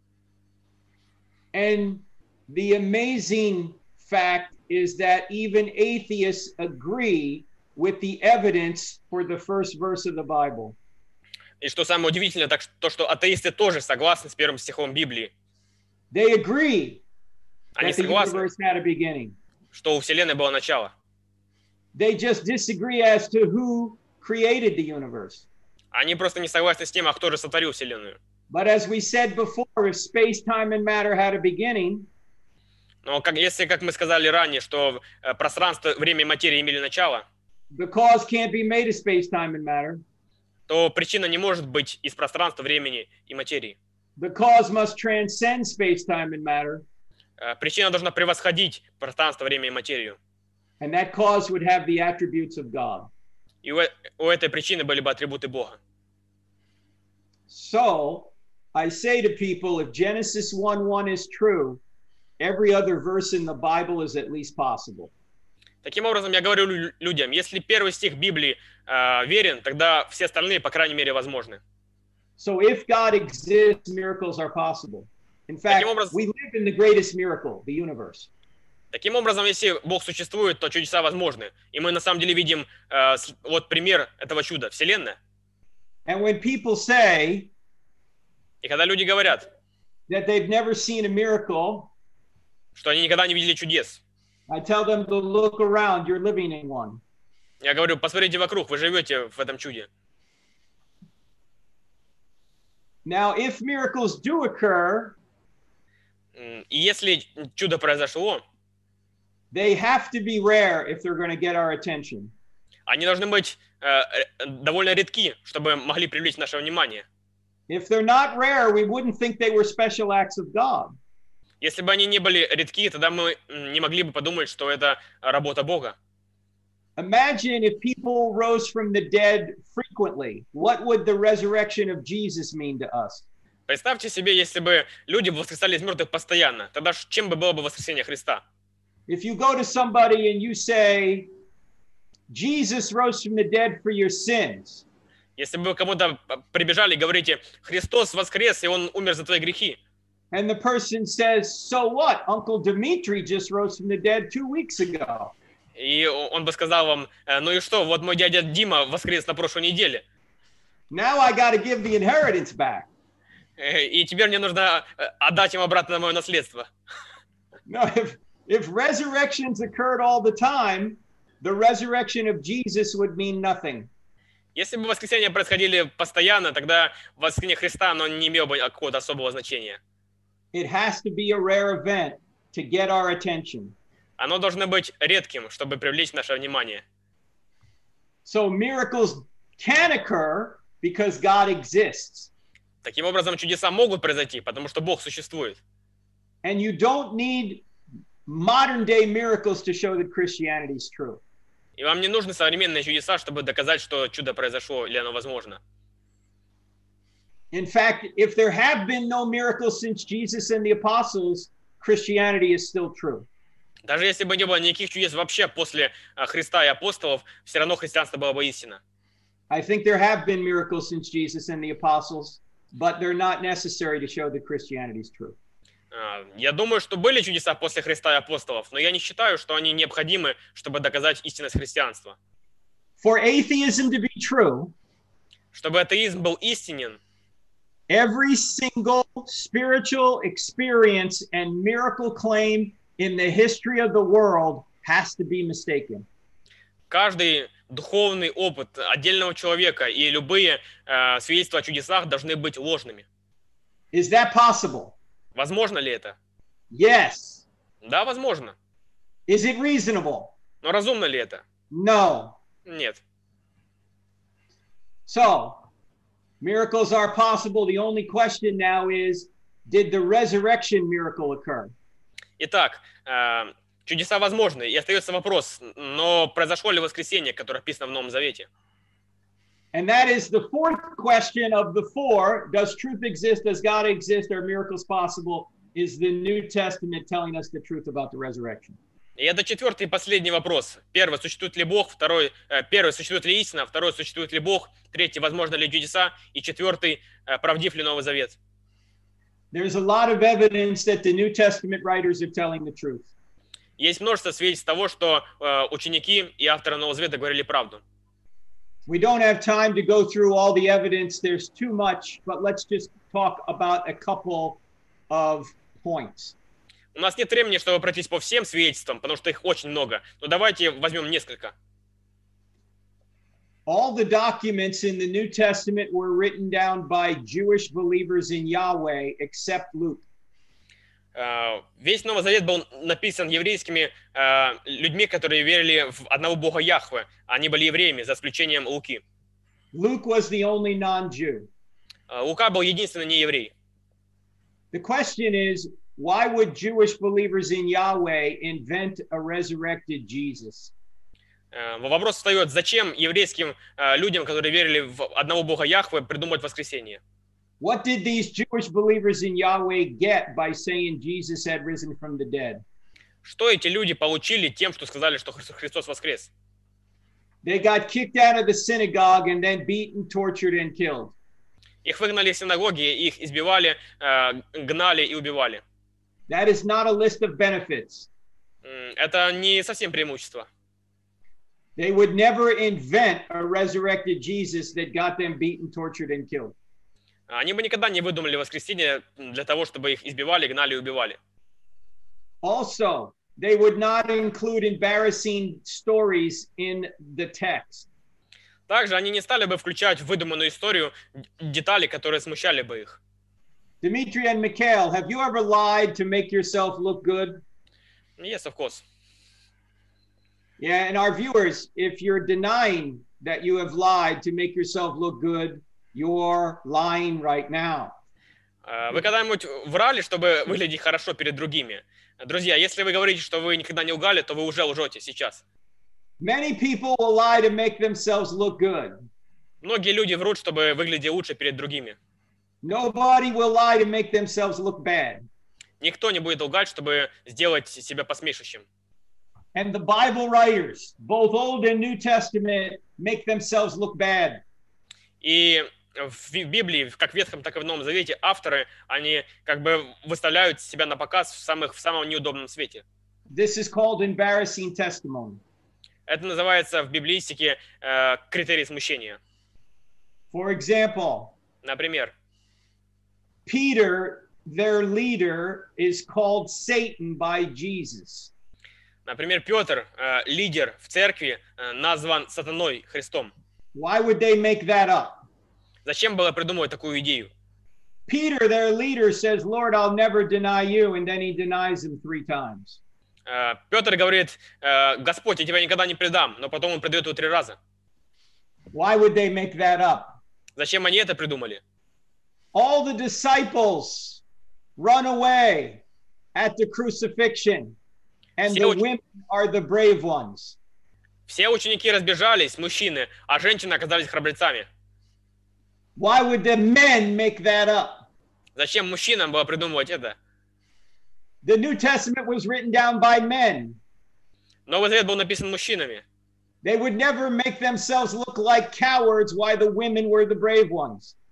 And the amazing fact is that even atheists agree with the evidence for the first verse of the Bible. И что самое удивительное, так ш- то, что атеисты тоже согласны с первым стихом Библии. They agree Они that the согласны, universe had a beginning. что у вселенной было начало. They just disagree as to who created the universe. Они просто не согласны с тем, а кто же сотворил вселенную. But as we said before, if space, time, and matter had a beginning, Но как, если, как мы сказали ранее, что э, пространство, время и материя имели начало, the cause can't be made of space, time, and matter. то причина не может быть из пространства, времени и материи. The cause must transcend space, time, and matter. Э, Причина должна превосходить пространство, время и материю. And that cause would have the attributes of God. И у, э- у этой причины были бы атрибуты Бога. So I say to people, if Genesis one one is true, every other verse in the Bible is at least possible. Таким образом, я говорю лю- людям, если первый стих Библии э, верен, тогда все остальные, по крайней мере, возможны. So if God exists, miracles are possible. In fact, Таким образом- we live in the greatest miracle, the universe. Таким образом, если Бог существует, то чудеса возможны. И мы на самом деле видим э, с- вот пример этого чуда, Вселенная. And when people say И когда люди говорят, that they've never seen a miracle, что они никогда не видели чудес, I tell them to look around, you're living in one. я говорю, посмотрите вокруг, вы живете в этом чуде. Now, if miracles do occur, М, И если чудо произошло, they have to be rare if they're going to get our attention. они должны быть э, э, довольно редки, чтобы могли привлечь наше внимание. If they're not rare, we wouldn't think they were special acts of God. Если бы они не были редки, тогда мы м, не могли бы подумать, что это работа Бога. Imagine if people rose from the dead frequently. What would the resurrection of Jesus mean to us? Представьте себе, если бы люди воскресали из мертвых постоянно, тогда ш- чем бы было бы воскресение Христа? If you go to somebody and you say, Jesus rose from the dead for your sins, Если бы вы кому-то п- прибежали и говорите, Христос воскрес, и Он умер за твои грехи, and the person says, so what? Uncle Dimitri just rose from the dead two weeks ago. и о- он бы сказал вам, «Э, ну и что, вот мой дядя Дима воскрес на прошлой неделе, Now I got to give the inheritance back. э, и теперь мне нужно э, отдать им обратно мое наследство. No, if, if resurrections occurred all the time, the resurrection of Jesus would mean nothing. Если бы воскресения происходили постоянно, тогда воскресение Христа, оно не имело бы какого-то особого значения. It has to be a rare event to get our attention. Оно должно быть редким, чтобы привлечь наше внимание. So miracles can occur because God exists. Таким образом, чудеса могут произойти, потому что Бог существует. And you don't need modern day miracles to show that Christianity is true. И вам не нужны современные чудеса, чтобы доказать, что чудо произошло или оно возможно. In fact, if there have been no miracles since Jesus and the apostles, Christianity is still true. Даже если бы не было никаких чудес вообще после а, Христа и апостолов, все равно христианство было бы истина. I think there have been miracles since Jesus and the apostles. but they're not necessary to show that Christianity is true. Я думаю, что были чудеса после Христа и апостолов, но я не считаю, что они необходимы, чтобы доказать истинность христианства. For atheism to be true, чтобы атеизм был истинен, every single spiritual experience and miracle claim in the history of the world has to be mistaken. Каждый духовный опыт отдельного человека и любые э, свидетельства о чудесах должны быть ложными. Is that possible? Возможно ли это? Yes. Да, возможно. Is it reasonable? Но разумно ли это? No. Нет. So, miracles are possible. The only question now is, did the resurrection miracle occur? Итак, э, чудеса возможны. И остается вопрос, но произошло ли воскресение, которое описано в Новом Завете? And that is the fourth question of the four. Does truth exist? Does God exist? Are miracles possible? Is the New Testament telling us the truth about the resurrection? И это четвертый и последний вопрос. Первый, существует ли Бог? Второй, э, первый, существует ли истина? Второй, существует ли Бог? Третий, возможно ли чудеса? И четвертый, э, правдив ли Новый Завет? There's a lot of evidence that the New Testament writers are telling the truth. Есть множество свидетельств того, что э, ученики и авторы Нового Завета говорили правду. We don't have time to go through all the evidence. There's too much, but let's just talk about a couple of points. У нас нет времени, чтобы пройтись по всем свидетельствам, потому что их очень много. Но давайте возьмем несколько. All the documents in the New Testament were written down by Jewish believers in Yahweh, except Luke. Uh, весь Новый Завет был написан еврейскими uh, людьми, которые верили в одного Бога Яхве. Они были евреями, за исключением Луки. Luke was the only non-Jew. Uh, Лука был единственный нееврей. The question is, why would Jewish believers in Yahweh invent a resurrected Jesus? Uh, вопрос встает, зачем еврейским uh, людям, которые верили в одного Бога Яхве, придумать воскресение? What did these Jewish believers in Yahweh get by saying Jesus had risen from the dead? Что эти люди получили тем, что сказали, что Христос воскрес? They got kicked out of the synagogue and then beaten, tortured, and killed. Их выгнали из синагоги, их избивали, uh, гнали и убивали. That is not a list of benefits. Это не совсем преимущество. They would never invent a resurrected Jesus that got them beaten, tortured, and killed. Они бы никогда не выдумали воскресение для того, чтобы их избивали, гнали и убивали. Also, they would not include embarrassing stories in the text. Также они не стали бы включать в выдуманную историю детали, которые смущали бы их. Dimitri and Mikhail, have you ever lied to make yourself look good? Yes, of course. Yeah, and our viewers, if you're denying that you have lied to make yourself look good, you're lying right now. Вы когда-нибудь врали, чтобы выглядеть хорошо перед другими? Друзья, если вы говорите, что вы никогда не лгали, то вы уже лжете сейчас. Many people will lie to make themselves look good. Многие люди врут, чтобы выглядеть лучше перед другими. Nobody will lie to make themselves look bad. Никто не будет лгать, чтобы сделать себя посмешищем. And the Bible writers, both Old and New Testament, make themselves look bad. И в Библии, как в Ветхом, так и в Новом Завете, авторы, они как бы выставляют себя на показ в, самых, в самом неудобном свете. This is called embarrassing testimony. Это называется в библеистике э, критерий смущения. For example, Например, Peter, their leader, is called Satan by Jesus. Например, Петр, э, лидер в церкви, э, назван сатаной, Христом. Why would they make that up? Зачем было придумывать такую идею? Peter, their leader, says, Lord, I'll never deny you, and then he denies him three times. Э, Петр говорит, э, Господь, я тебя никогда не предам, но потом он предает его три раза. Why would they make that up? Зачем они это придумали? All the disciples run away at the crucifixion, and Все the уч- women are the brave ones. Все ученики разбежались, мужчины, а женщины оказались храбрецами. Why would the men make that up? Зачем мужчинам было придумывать это? The New Testament was written down by men. Новый Завет был написан мужчинами. They would never make themselves look like cowards while the women were the brave ones.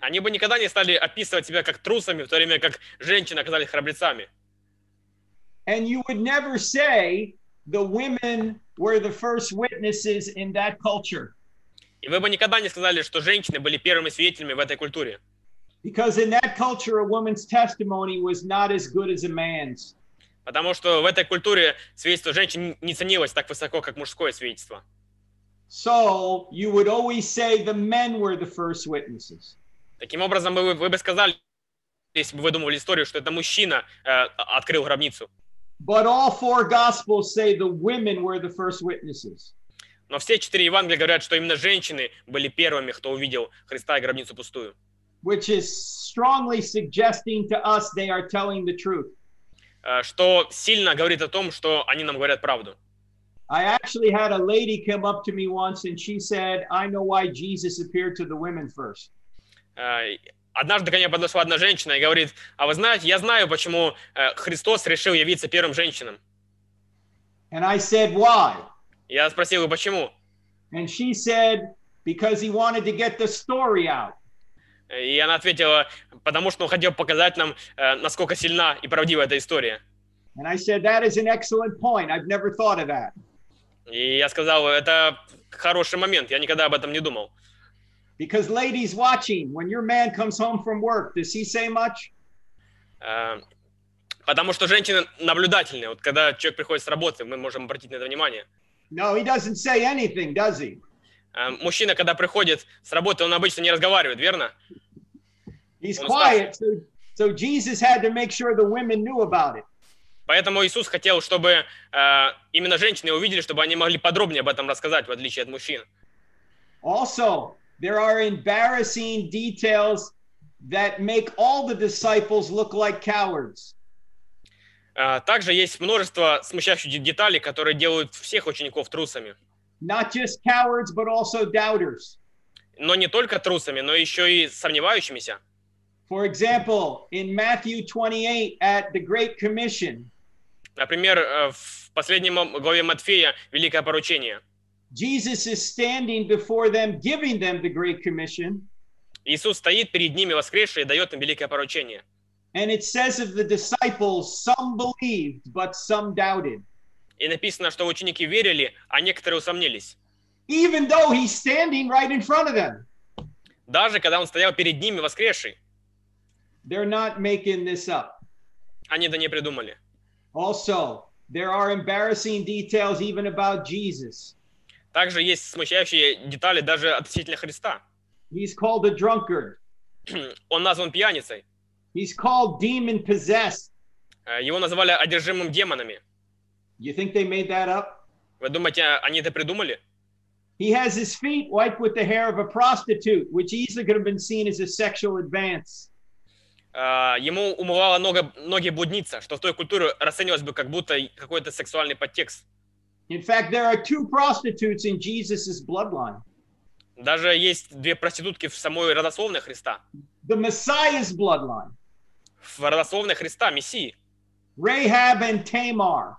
они бы никогда не стали описывать себя как трусами, в то время как женщины оказались храбрецами. And you would never say the women were the first witnesses in that culture. И вы бы никогда не сказали, что женщины были первыми свидетелями в этой культуре. Because in that culture, a woman's testimony was not as good as a man's. Потому что в этой культуре свидетельство женщин не ценилось так высоко, как мужское свидетельство. So you would always say the men were the first witnesses. Таким образом, вы, вы бы сказали, если бы вы думали историю, что это мужчина э, открыл гробницу. But all four gospels say the women were the first witnesses. Но все четыре Евангелия говорят, что именно женщины были первыми, кто увидел Христа и гробницу пустую. Which is strongly suggesting to us they are telling the truth. Что сильно говорит о том, что они нам говорят правду. I actually had a lady come up to me once and she said, I know why Jesus appeared to the women first. Однажды ко мне подошла одна женщина и говорит, а вы знаете, я знаю, почему Христос решил явиться первым женщинам. And I said, why? Я спросил ее, почему? And she said, because he wanted to get the story out. И она ответила, потому что он хотел показать нам, насколько сильна и правдива эта история. And I said, that is an excellent point. I've never thought of that. И я сказал, это хороший момент, я никогда об этом не думал. Because ladies watching, when your man comes home from work, does he say much? Потому что женщины наблюдательные. Вот когда человек приходит с работы, мы можем обратить на это внимание. No, he doesn't say anything, does he? Мужчина, когда приходит с работы, он обычно не разговаривает, верно? He's quiet, so, so Jesus had to make sure the women knew about it. Поэтому Иисус хотел, чтобы э, именно женщины увидели, чтобы они могли подробнее об этом рассказать, в отличие от мужчин. Also, there are embarrassing details that make all the disciples look like cowards. Э, также есть множество смущающих деталей, которые делают всех учеников трусами. Not just cowards, but also doubters. Но не только трусами, но еще и сомневающимися. For example, in Matthew twenty-eight at the Great Commission, например, в последнем главе Матфея Великое поручение. Jesus is standing before them, giving them the Great Commission. Иисус стоит перед ними воскресший и дает им великое поручение. And it says of the disciples, some believed, but some doubted. И написано, что ученики верили, а некоторые усомнились. Even though he's standing right in front of them. Даже когда он стоял перед ними воскресший. They're not making this up. Они это не придумали. Also, there are embarrassing details even about Jesus. Также есть смущающие детали даже относительно Христа. He's called a drunkard. Он назван пьяницей. He's called demon-possessed. Его называли одержимым демонами. You think they made that up? Вы думаете, они это придумали? He has his feet wiped with the hair of a prostitute, which easily could have been seen as a sexual advance. Uh, ему умывала ноги, ноги блудница, что в той культуре расценивалось бы как будто какой-то сексуальный подтекст. In fact, there are two prostitutes in Jesus' bloodline. Даже есть две проститутки в самой родословной Христа. The Messiah's bloodline. В родословной Христа, Мессии. Rahab and Tamar.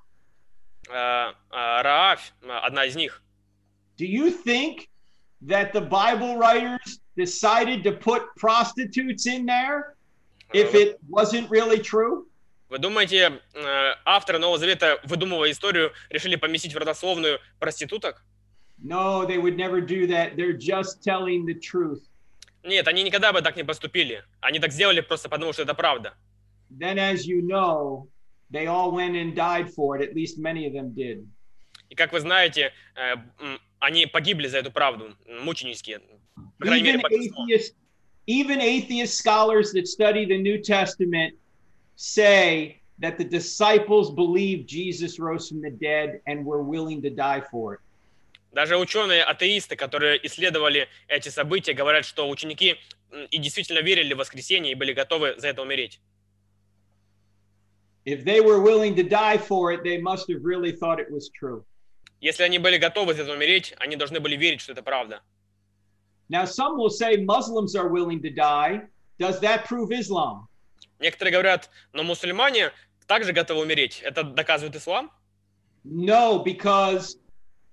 Uh, uh, Раавь, одна из них. Do you think that the Bible writers decided to put prostitutes in there if it wasn't really true? Вы думаете, авторы Нового Завета, выдумывая историю, решили поместить в родословную проституток? No, they would never do that. They're just telling the truth. Нет, они никогда бы так не поступили. Они так сделали просто потому, что это правда. Then, as you know, they all went and died for it. At least many of them did. И как вы знаете, они погибли за эту правду, мученически. По крайней Even мере, большинство. atheist, even atheist scholars that study the New Testament say that the disciples believed Jesus rose from the dead and were willing to die for it. Даже ученые-атеисты, которые исследовали эти события, говорят, что ученики и действительно верили в воскресение и были готовы за это умереть. If they were willing to die for it, they must have really thought it was true. Если они были готовы за это умереть, они должны были верить, что это правда. Now, some will say Muslims are willing to die. Does that prove Islam? Некоторые говорят, но мусульмане также готовы умереть. Это доказывает ислам? No, because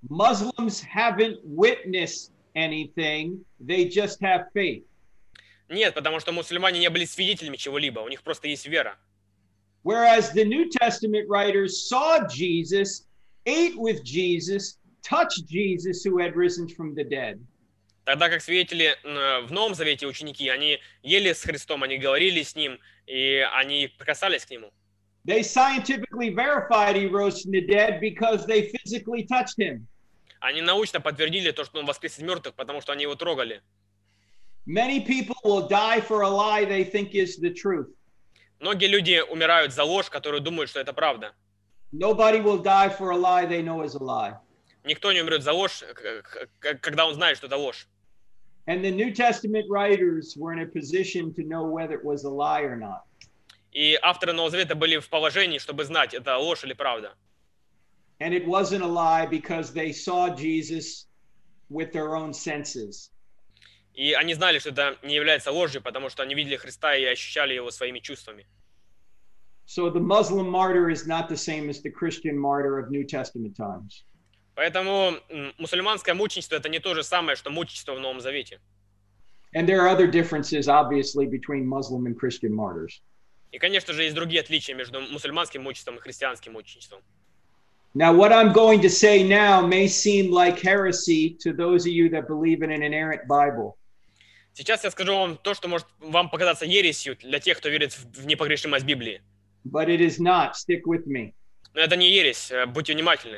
Muslims haven't witnessed anything. They just have faith. Нет, потому что мусульмане не были свидетелями чего-либо, у них просто есть вера. Whereas the New Testament writers saw Jesus, ate with Jesus, touched Jesus who had risen from the dead. Тогда как свидетели в Новом Завете ученики, они ели с Христом, они говорили с Ним, и они прикасались к Нему. They scientifically verified he rose from the dead because they physically touched him. Они научно подтвердили то, что Он воскрес из мертвых, потому что они Его трогали. Many people will die for a lie they think is the truth. Многие люди умирают за ложь, которую думают, что это правда. Nobody will die for a lie they know is a lie. Никто не умрет за ложь, когда он знает, что это ложь. And the New Testament writers were in a position to know whether it was a lie or not. И авторы Нового Завета были в положении, чтобы знать, это ложь или правда. And it wasn't a lie because they saw Jesus with their own senses. И они знали, что это не является ложью, потому что они видели Христа и ощущали Его своими чувствами. So the Muslim martyr is not the same as the Christian martyr of New Testament times. Поэтому мусульманское мученичество – это не то же самое, что мученичество в Новом Завете. And there are other differences, obviously, between Muslim and Christian martyrs. И, конечно же, есть другие отличия между мусульманским мученичеством и христианским мученичеством. Now, what I'm going to say now may seem like heresy to those of you that believe in an inerrant Bible. Сейчас я скажу вам то, что может вам показаться ересью для тех, кто верит в непогрешимость Библии. But it is not. Stick with me. Но это не ересь, будьте внимательны.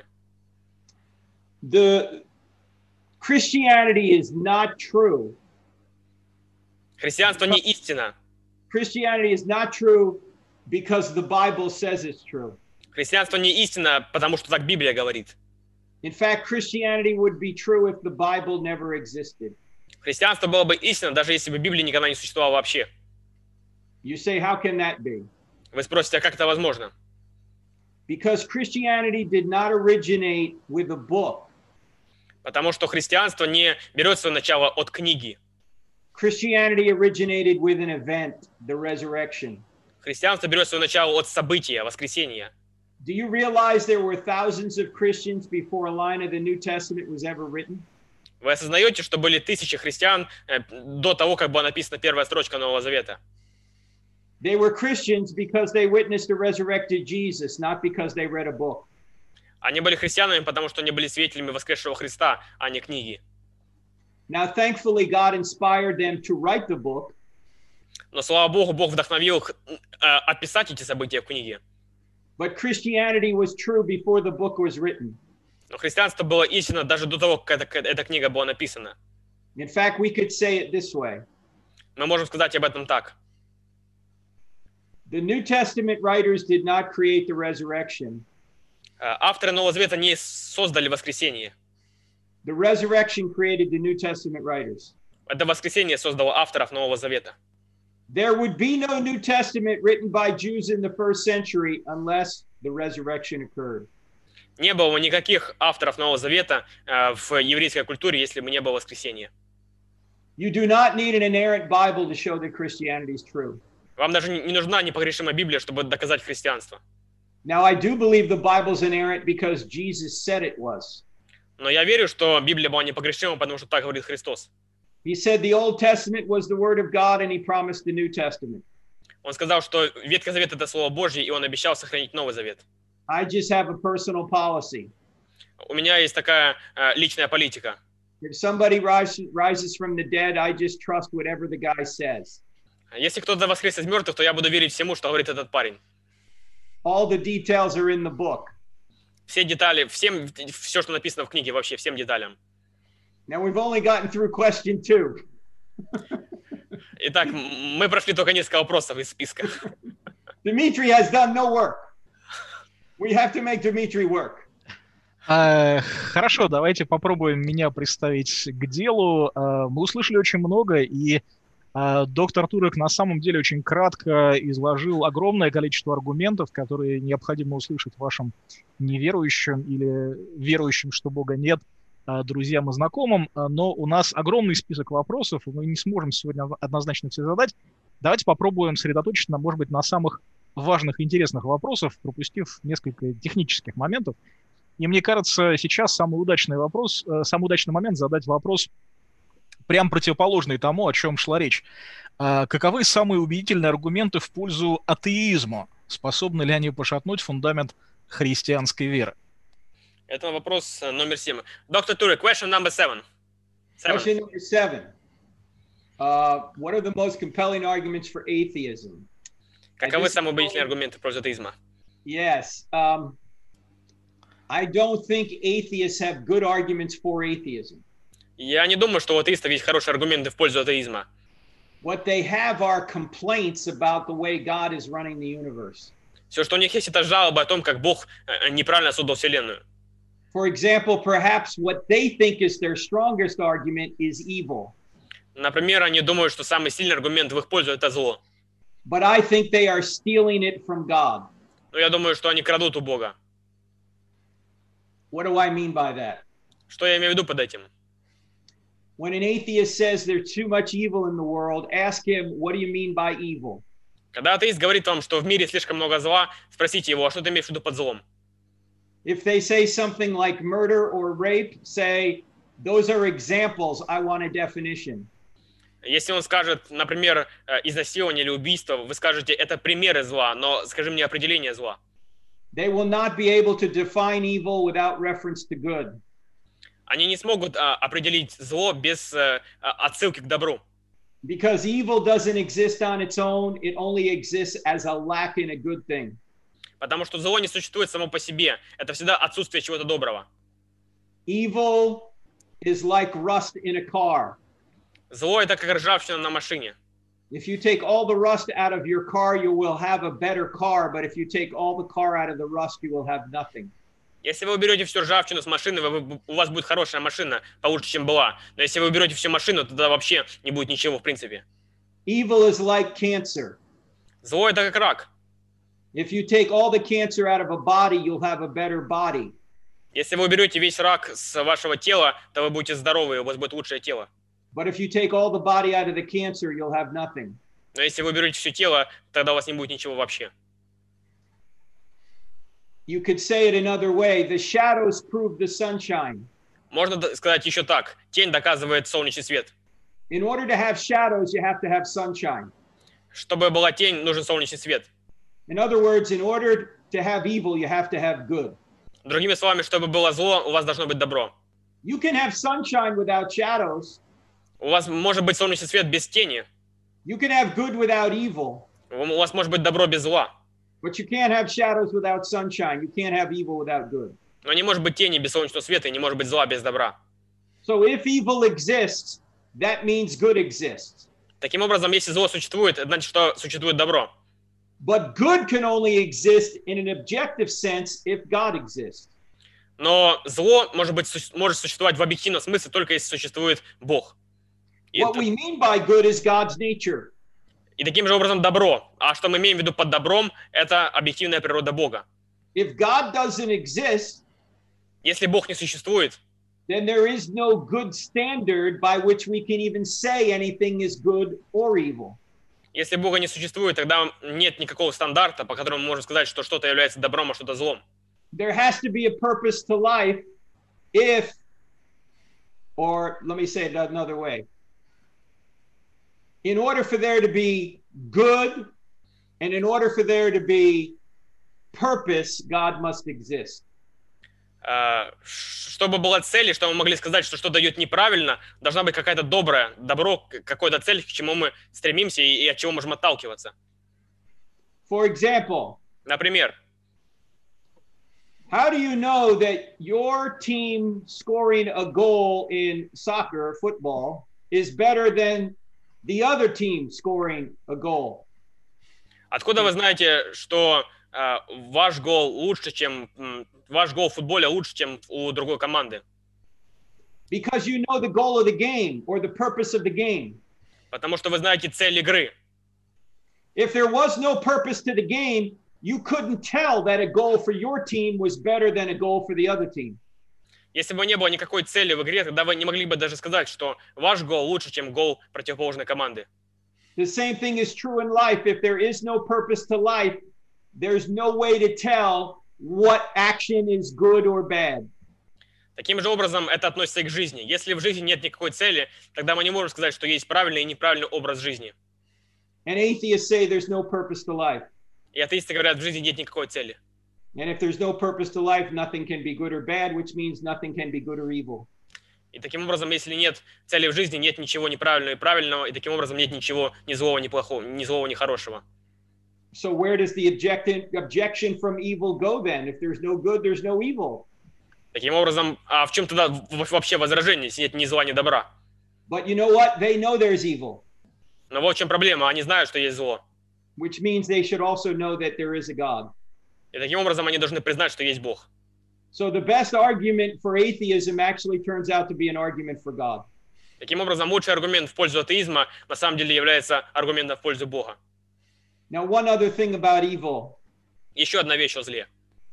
The Christianity is not true. Христианство не истина. Christianity is not true because the Bible says it's true. Христианство не истина, потому что так Библия говорит. In fact, Christianity would be true if the Bible never existed. Христианство было бы истинно, даже если бы Библия никогда не существовала вообще. You say, how can that be? Вы спросите, а как это возможно? Because Christianity did not originate with a book. Потому что христианство не берет свое начало от книги. Christianity originated with an event, the resurrection. Христианство берет свое начало от события, воскресения. Do you realize there were thousands of Christians before a line of the New Testament was ever written? Вы осознаете, что были тысячи христиан до того, как была написана первая строчка Нового Завета? They were Christians because they witnessed a resurrected Jesus, not because they read a book. Они были христианами, потому что они были свидетелями воскресшего Христа, а не книги. Now, thankfully, God inspired them to write the book. Но, слава Богу, Бог вдохновил их э, описать эти события в книге. But Christianity was true before the book was written. Но христианство было истинно даже до того, как эта, эта книга была написана. In fact, we could say it this way. Мы можем сказать об этом так. The New Testament writers did not create the resurrection. Э, авторы Нового Завета не создали воскресение. The resurrection created the New Testament writers. Это воскресение создало авторов Нового Завета. There would be no New Testament written by Jews in the first century unless the resurrection occurred. Не было никаких авторов Нового Завета э, в еврейской культуре, если бы не было воскресения. You do not need an inerrant Bible to show that Christianity is true. Вам даже не нужна непогрешимая Библия, чтобы доказать христианство. Now, I do believe the Bible's inerrant because Jesus said it was. Но я верю, что Библия была непогрешима, потому что так говорит Христос. He said the Old Testament was the Word of God, and he promised the New Testament. Он сказал, что Ветхий Завет – это Слово Божье, и Он обещал сохранить Новый Завет. I just have a personal policy. У меня есть такая э, личная политика. If somebody rise, rises from the dead, I just trust whatever the guy says. Если кто-то воскрес из мертвых, то я буду верить всему, что говорит этот парень. All the details are in the book. Все детали, всем, все, что написано в книге, вообще всем деталям. Now, we've only gotten through question two. Итак, мы прошли только несколько вопросов из списка. Dmitry has done no work. We have to make Dmitry work. Uh, хорошо, давайте попробуем меня представить к делу. Uh, мы услышали очень много, и uh, доктор Турек на самом деле очень кратко изложил огромное количество аргументов, которые необходимо услышать вашим неверующим или верующим, что Бога нет, друзьям и знакомым, но у нас огромный список вопросов, и мы не сможем сегодня однозначно все задать. Давайте попробуем сосредоточиться, на, может быть, на самых важных и интересных вопросах, пропустив несколько технических моментов. И мне кажется, сейчас самый удачный вопрос, самый удачный момент задать вопрос прям противоположные тому, о чем шла речь. А каковы самые убедительные аргументы в пользу атеизма? Способны ли они пошатнуть фундамент христианской веры? Это вопрос номер семь. Доктор Туре, question number seven. seven. Question number seven. Uh, what are the most compelling arguments for atheism? Каковы самые убедительные аргументы в пользу атеизма? Yes. Um, I don't think atheists have good arguments for atheism. Я не думаю, что у атеистов есть хорошие аргументы в пользу атеизма. What they have are complaints about the way God is running the universe. Все, что у них есть, это жалобы о том, как Бог неправильно создал Вселенную. For example, perhaps what they think is their strongest argument is evil. Например, они думают, что самый сильный аргумент в их пользу – это зло. But I think they are stealing it from God. Но я думаю, что они крадут у Бога. What do I mean by that? Что я имею в виду под этим? When an atheist says there's too much evil in the world, ask him, what do you mean by evil? Когда атеист говорит вам, что в мире слишком много зла, спросите его, а что ты имеешь в виду под злом? If they say something like murder or rape, say, those are examples, I want a definition. Если он скажет, например, изнасилование или убийство, вы скажете, это примеры зла, но скажи мне определение зла. They will not be able to define evil without reference to good. Они не смогут а, определить зло без а, отсылки к добру. Because evil doesn't exist on its own, it only exists as a lack in a good thing. Потому что зло не существует само по себе. Это всегда отсутствие чего-то доброго. Evil is like rust in a car. Зло – это как ржавчина на машине. If you take all the rust out of your car, you will have a better car. But if you take all the car out of the rust, you will have nothing. Если вы уберете всю ржавчину с машины, вы, у вас будет хорошая машина, получше, чем была. Но если вы уберете всю машину, тогда вообще не будет ничего в принципе. Evil is like cancer. Зло – это как рак. If you take all the cancer out of a body, you'll have a better body. Если вы уберете весь рак с вашего тела, то вы будете здоровы, у вас будет лучшее тело. But if you take all the body out of the cancer, you'll have nothing. Но если вы уберете все тело, тогда у вас не будет ничего вообще. You could say it another way. The shadows prove the sunshine. Можно сказать еще так. Тень доказывает солнечный свет. In order to have shadows, you have to have sunshine. Чтобы была тень, нужен солнечный свет. In other words, in order to have evil, you have to have good. Другими словами, чтобы было зло, у вас должно быть добро. You can have sunshine without shadows. У вас может быть солнечный свет без тени. You can have good without evil. У вас может быть добро без зла. But you can't have shadows without sunshine. You can't have evil without good. Но не может быть тени без солнечного света, и не может быть зла без добра. So if evil exists, that means good exists. Таким образом, если зло существует, это значит, что существует добро. But good can only exist in an objective sense if God exists. Но зло может быть может существовать в объективном смысле только если существует Бог. И, What это, we mean by good is God's nature. и таким же образом добро. А что мы имеем в виду под добром, это объективная природа Бога. If God doesn't exist, Если Бог не существует, then there is no good standard by which we can even say anything is good or evil. если Бога не существует, тогда нет никакого стандарта, по которому мы можем сказать, что что-то является добром, а что-то злом. There has to be a purpose to life if, or let me say it another way. In order for there to be good and in order for there to be purpose, God must exist. Чтобы была цель, и чтобы мы могли сказать, что что-то идет неправильно, должна быть какая-то добрая, добро, какая-то цель, к чему мы стремимся и, и от чего можем отталкиваться. For example, Например, how do you know that your team scoring a goal in soccer or football is better than the other team scoring a goal? откуда вы знаете, что э, ваш гол лучше, чем м, ваш гол в футболе лучше, чем у другой команды? Because you know the goal of the game or the purpose of the game. Потому что вы знаете цель игры. If there was no purpose to the game, you couldn't tell that a goal for your team was better than a goal for the other team. Если бы не было никакой цели в игре, тогда вы не могли бы даже сказать, что ваш гол лучше, чем гол противоположной команды. The same thing is true in life. If there is no purpose to life, there's no way to tell what action is good or bad. Таким же образом это относится и к жизни. Если в жизни нет никакой цели, тогда мы не можем сказать, что есть правильный и неправильный образ жизни. And atheists say there's no purpose to life. И атеисты говорят, в жизни нет никакой цели. And if there's no purpose to life, nothing can be good or bad, which means nothing can be good or evil. И таким образом, если нет цели в жизни, нет ничего неправильного и правильного, и таким образом нет ничего ни злого, ни плохого, ни злого, ни хорошего. So where does the objection, objection from evil go then? If there's no good, there's no evil. Таким образом, а в чем тогда вообще возражение, если нет ни зла, ни добра? But you know what? They know there's evil. Но вот в чем проблема, они знают, что есть зло. Which means they should also know that there is a God. И таким образом они должны признать, что есть Бог. So the best argument for atheism actually turns out to be an argument for God. Таким образом, лучший аргумент в пользу атеизма на самом деле является аргументом в пользу Бога. Now, one other thing about evil. Еще одна вещь о зле.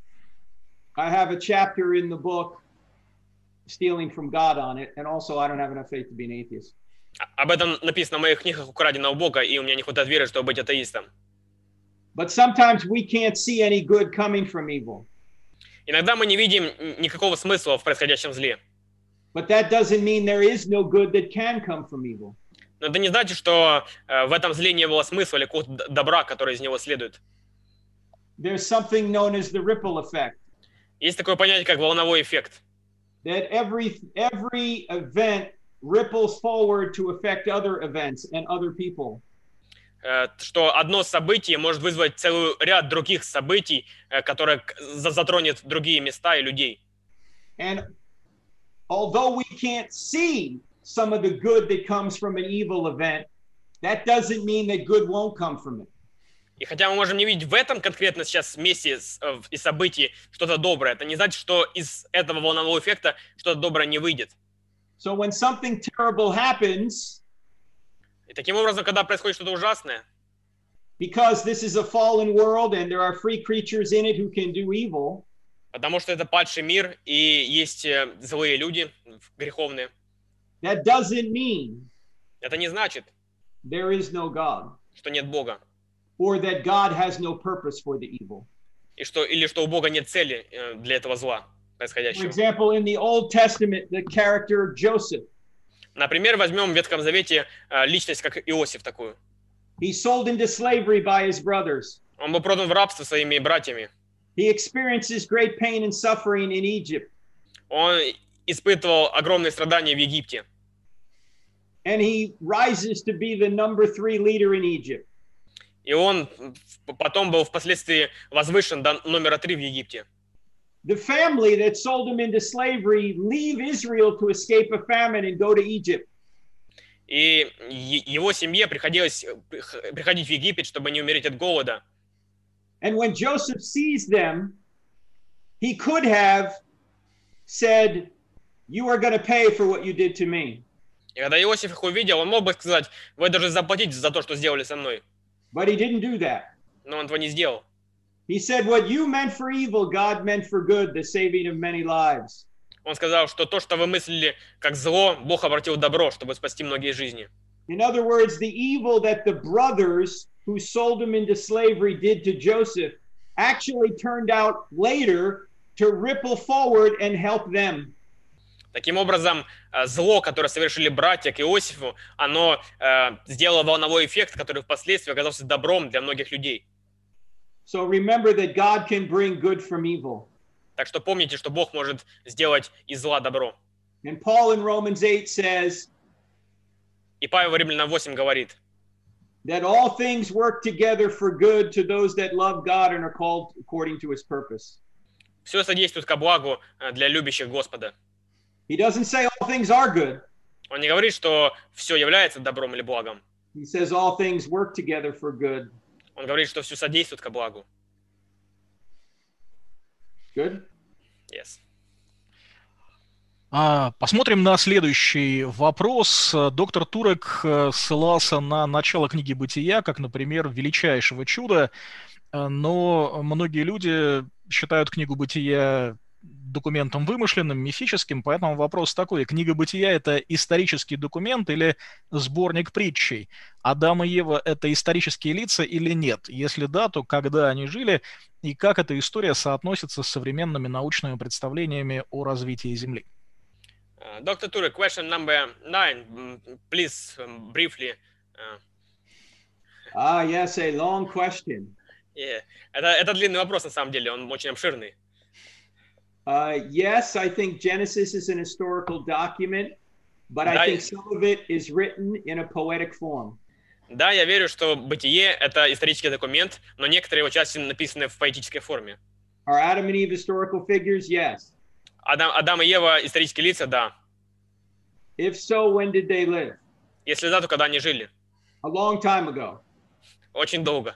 I have a chapter in the book, Stealing from God, on it, and also I don't have enough faith to be an atheist. Об этом написано в моих книгах «Украденного Бога», и у меня не хватает веры, чтобы быть атеистом. But sometimes we can't see any good coming from evil. Иногда мы не видим никакого смысла в происходящем зле. But that doesn't mean there is no good that can come from evil. Но это не значит, что э, в этом зле не было смысла или какого-то добра, который из него следует. There's something known as the ripple effect. Есть такое понятие, как волновой эффект. That every every event ripples forward to affect other events and other people. Э, что одно событие может вызвать целый ряд других событий, э, которые затронет другие места и людей. And although we can't see some of the good that comes from an evil event, that doesn't mean that good won't come from it. И хотя мы можем не видеть в этом конкретно сейчас месте и событии что-то доброе, это не значит, что из этого волнового эффекта что-то доброе не выйдет. So when something terrible happens, и таким образом, когда происходит что-то ужасное, because this is a fallen world and there are free creatures in it who can do evil, потому что это падший мир и есть злые люди, греховные, that doesn't mean это не значит, there is no God, что нет Бога. or that God has no purpose for the evil. И что, или что у Бога нет цели для этого зла For происходящего. example, in the Old Testament, the character Joseph, Например, возьмем в Ветхом Завете личность, как Иосиф такую. he sold into slavery by his brothers. Он был продан в рабство своими братьями. He experiences great pain and suffering in Egypt. Он испытывал огромные страдания в Египте. And he rises to be the number three leader in Egypt. И он потом был впоследствии возвышен до номера три в Египте. The family that sold him into slavery leave Israel to escape a famine and go to Egypt. И его семье приходилось приходить в Египет, чтобы не умереть от голода. And when Joseph sees them, he could have said, "You are going to pay for what you did to me." И когда Иосиф их увидел, он мог бы сказать: вы должны заплатить за то, что сделали со мной. But he didn't do that. Но он этого не сделал. He said, "What you meant for evil, God meant for good, the saving of many lives." Он сказал, что то, что вы мыслили как зло, Бог обратил в добро, чтобы спасти многие жизни. In other words, the evil that the brothers who sold him into slavery did to Joseph actually turned out later to ripple forward and help them. Таким образом, зло, которое совершили братья к Иосифу, оно э, сделало волновой эффект, который впоследствии оказался добром для многих людей. So remember that God can bring good from evil. Так что помните, что Бог может сделать из зла добро. And Paul in Romans eight says, И Павел в Римлянам восемь говорит, that all things work together for good to those that love God and are called according to his purpose. все содействует ко благу для любящих Господа. He doesn't say all things are good. Он не говорит, что все является добром или благом. He says all things work together for good. Он говорит, что все содействует ко благу. Good? Yes. Посмотрим на следующий вопрос. Доктор Турек ссылался на начало книги «Бытия», как, например, величайшего чуда, но многие люди считают книгу «Бытия» документом вымышленным, мифическим, поэтому вопрос такой: книга «Бытия» — это исторический документ или сборник притчей? Адам и Ева — это исторические лица или нет? Если да, то когда они жили и как эта история соотносится с современными научными представлениями о развитии Земли? Доктор Туре, question number nine, please, um, briefly. Uh, Ah, yes, a long question. yeah. это, это длинный вопрос, на самом деле, он очень обширный. Uh, yes, I think Genesis is an historical document, but I Да, think some of it is written in a poetic form. Да, я верю, что «Бытие» — это исторический документ, но некоторые его части написаны в поэтической форме. Are Adam and Eve historical figures? Yes. Адам, Адам и Ева — исторические лица, да. If so, when did they live? Если да, то когда они жили? A long time ago. Очень долго.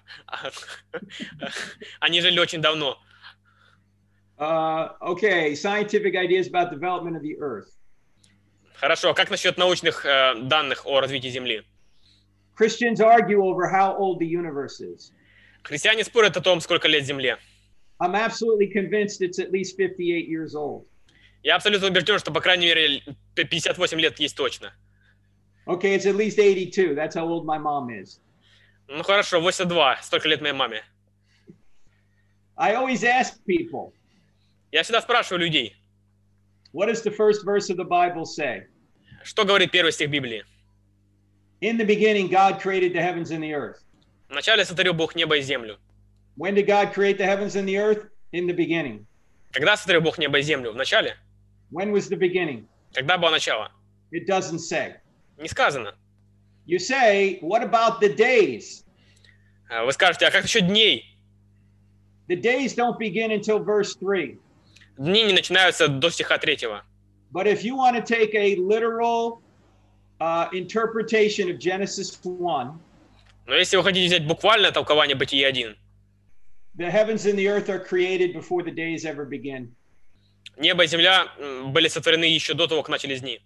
Они жили очень давно. Uh, okay, scientific ideas about development of the Earth. Хорошо, как насчет научных э, данных о развитии Земли? Christians argue over how old the universe is. Христиане спорят о том, сколько лет Земле. I'm absolutely convinced it's at least fifty-eight years old. Я абсолютно убежден, что, по крайней мере, пятьдесят восемь лет есть точно. Okay, it's at least eighty-two. That's how old my mom is. Ну хорошо, восемьдесят два. Столько лет моей маме. I always ask people, Я всегда спрашиваю людей, what does the first verse of the Bible say? что говорит первый стих Библии? In the beginning, God created the heavens and the earth. Вначале сотворил Бог небо и землю. When did God create the heavens and the earth? In the beginning. Когда сотворил Бог небо и землю? Вначале? When was the beginning? Когда было начало? It doesn't say. Не сказано. You say, what about the days? Вы скажете, а как насчет дней? The days don't begin until verse three. Дни не начинаются до стиха третьего. But if you want to take a literal uh, interpretation of Genesis one, Но если вы хотите взять буквальное толкование Бытия один, the heavens and the earth are created before the days ever begin. небо и земля были сотворены еще до того, как начались дни.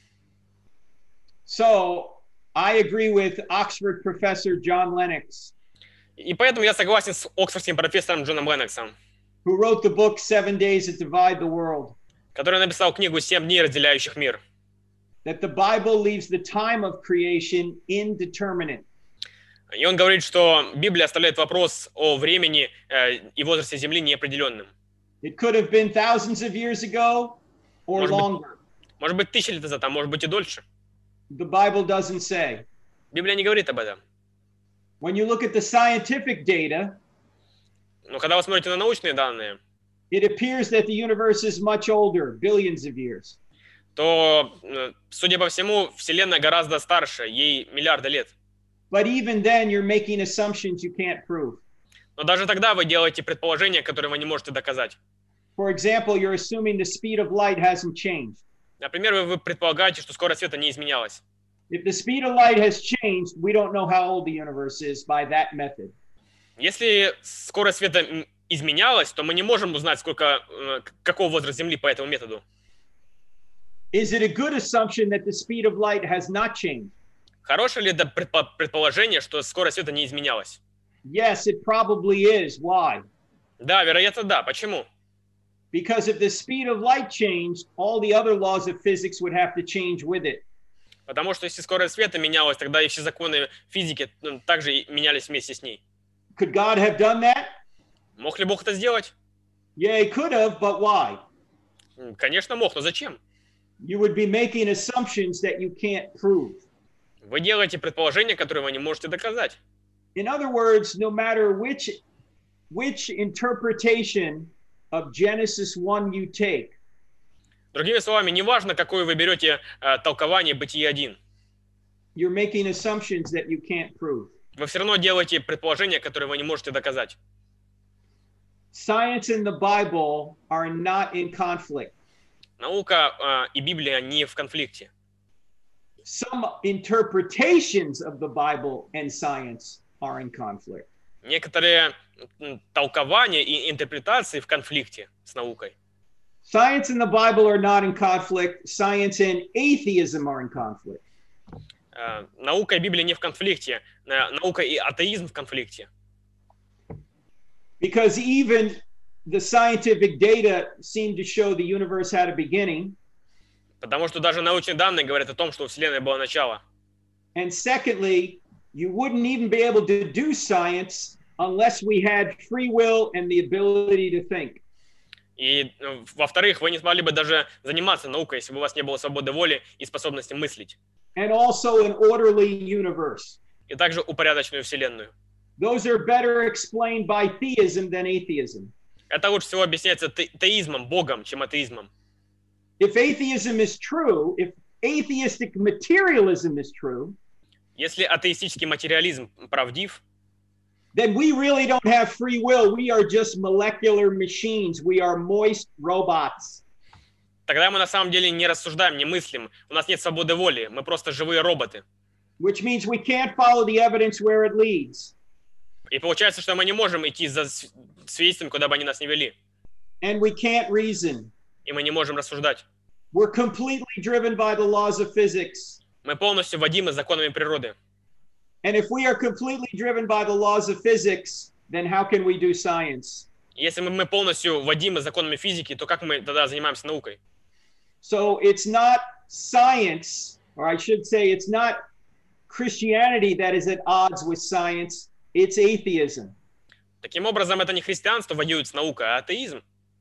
So I agree with Oxford professor John Lennox, И поэтому я согласен с оксфордским профессором Джоном Ленноксом, who wrote the book Seven Days That Divide the World, который написал книгу «Семь дней, разделяющих мир», that the Bible leaves the time of creation indeterminate. и он говорит, что Библия оставляет вопрос о времени э, и возрасте Земли неопределенным. It could have been thousands of years ago or Может быть, longer. может быть, тысячи лет назад, а может быть и дольше. The Bible doesn't say. Библия не говорит об этом. When you look at the scientific data, Но когда вы смотрите на научные данные, it appears that the universe is much older, billions of years. то, э, судя по всему, Вселенная гораздо старше, ей миллиарды лет. But even then, you're making assumptions you can't prove. Но даже тогда вы делаете предположения, которые вы не можете доказать. For example, you're assuming the speed of light hasn't changed. Например, вы, вы предполагаете, что скорость света не изменялась. If the speed of light has changed, we don't know how old the universe is by that method. Если скорость света м, изменялась, то мы не можем узнать, сколько, э, к- какого возраста Земли по этому методу. Is it a good assumption that the speed of light has not changed? Хорошее ли это предпо- предположение, что скорость света не изменялась? Yes, it probably is. Why? Да, вероятно, да. Почему? Because if the speed of light changed, all the other laws of physics would have to change with it. Потому что если скорость света менялась, тогда и все законы физики ну, также и менялись вместе с ней. Could God have done that? Мог ли Бог это сделать? Yeah, he could have, but why? М, Конечно, мог, но зачем? You would be making assumptions that you can't prove. Вы делаете предположения, которые вы не можете доказать. In other words, no matter which which interpretation of Genesis one you take, Другими словами, неважно, какое вы берете э, толкование Бытия один, you're making assumptions that you can't prove. вы все равно делаете предположения, которые вы не можете доказать. Science and the Bible are not in conflict. Наука э, и Библия не в конфликте. Some interpretations of the Bible and science are in conflict. Некоторые м, толкования и интерпретации в конфликте с наукой. Science and the Bible are not in conflict. Science and atheism are in conflict. Э, Наука и Библия не в конфликте. Э, Наука и атеизм в конфликте. Because even the scientific data seem to show the universe had a beginning. Потому что даже научные данные говорят о том, что у Вселенной было начало. And secondly, you wouldn't even be able to do science unless we had free will and the ability to think. И, во-вторых, вы не смогли бы даже заниматься наукой, если бы у вас не было свободы воли и способности мыслить. And also an orderly universe. И также упорядоченную Вселенную. Those are better explained by theism than atheism. Это лучше всего объясняется те- теизмом, Богом, чем атеизмом. If atheism is true, if atheistic materialism is true, Если атеистический материализм правдив, then we really don't have free will. We are just molecular machines. We are moist robots. тогда мы на самом деле не рассуждаем, не мыслим. У нас нет свободы воли, мы просто живые роботы. Which means we can't follow the evidence where it leads. И получается, что мы не можем идти за с- свидетельством, куда бы они нас ни вели. And we can't reason. И мы не можем рассуждать. We're completely driven by the laws of physics. Мы полностью водимы законами природы. And if we are completely driven by the laws of physics, then how can we do science? Если мы, мы полностью водимы законами физики, то как мы тогда занимаемся наукой? So it's not science, or I should say, it's not Christianity that is at odds with science, it's atheism. Таким образом, это не христианство воюет с наукой, а атеизм.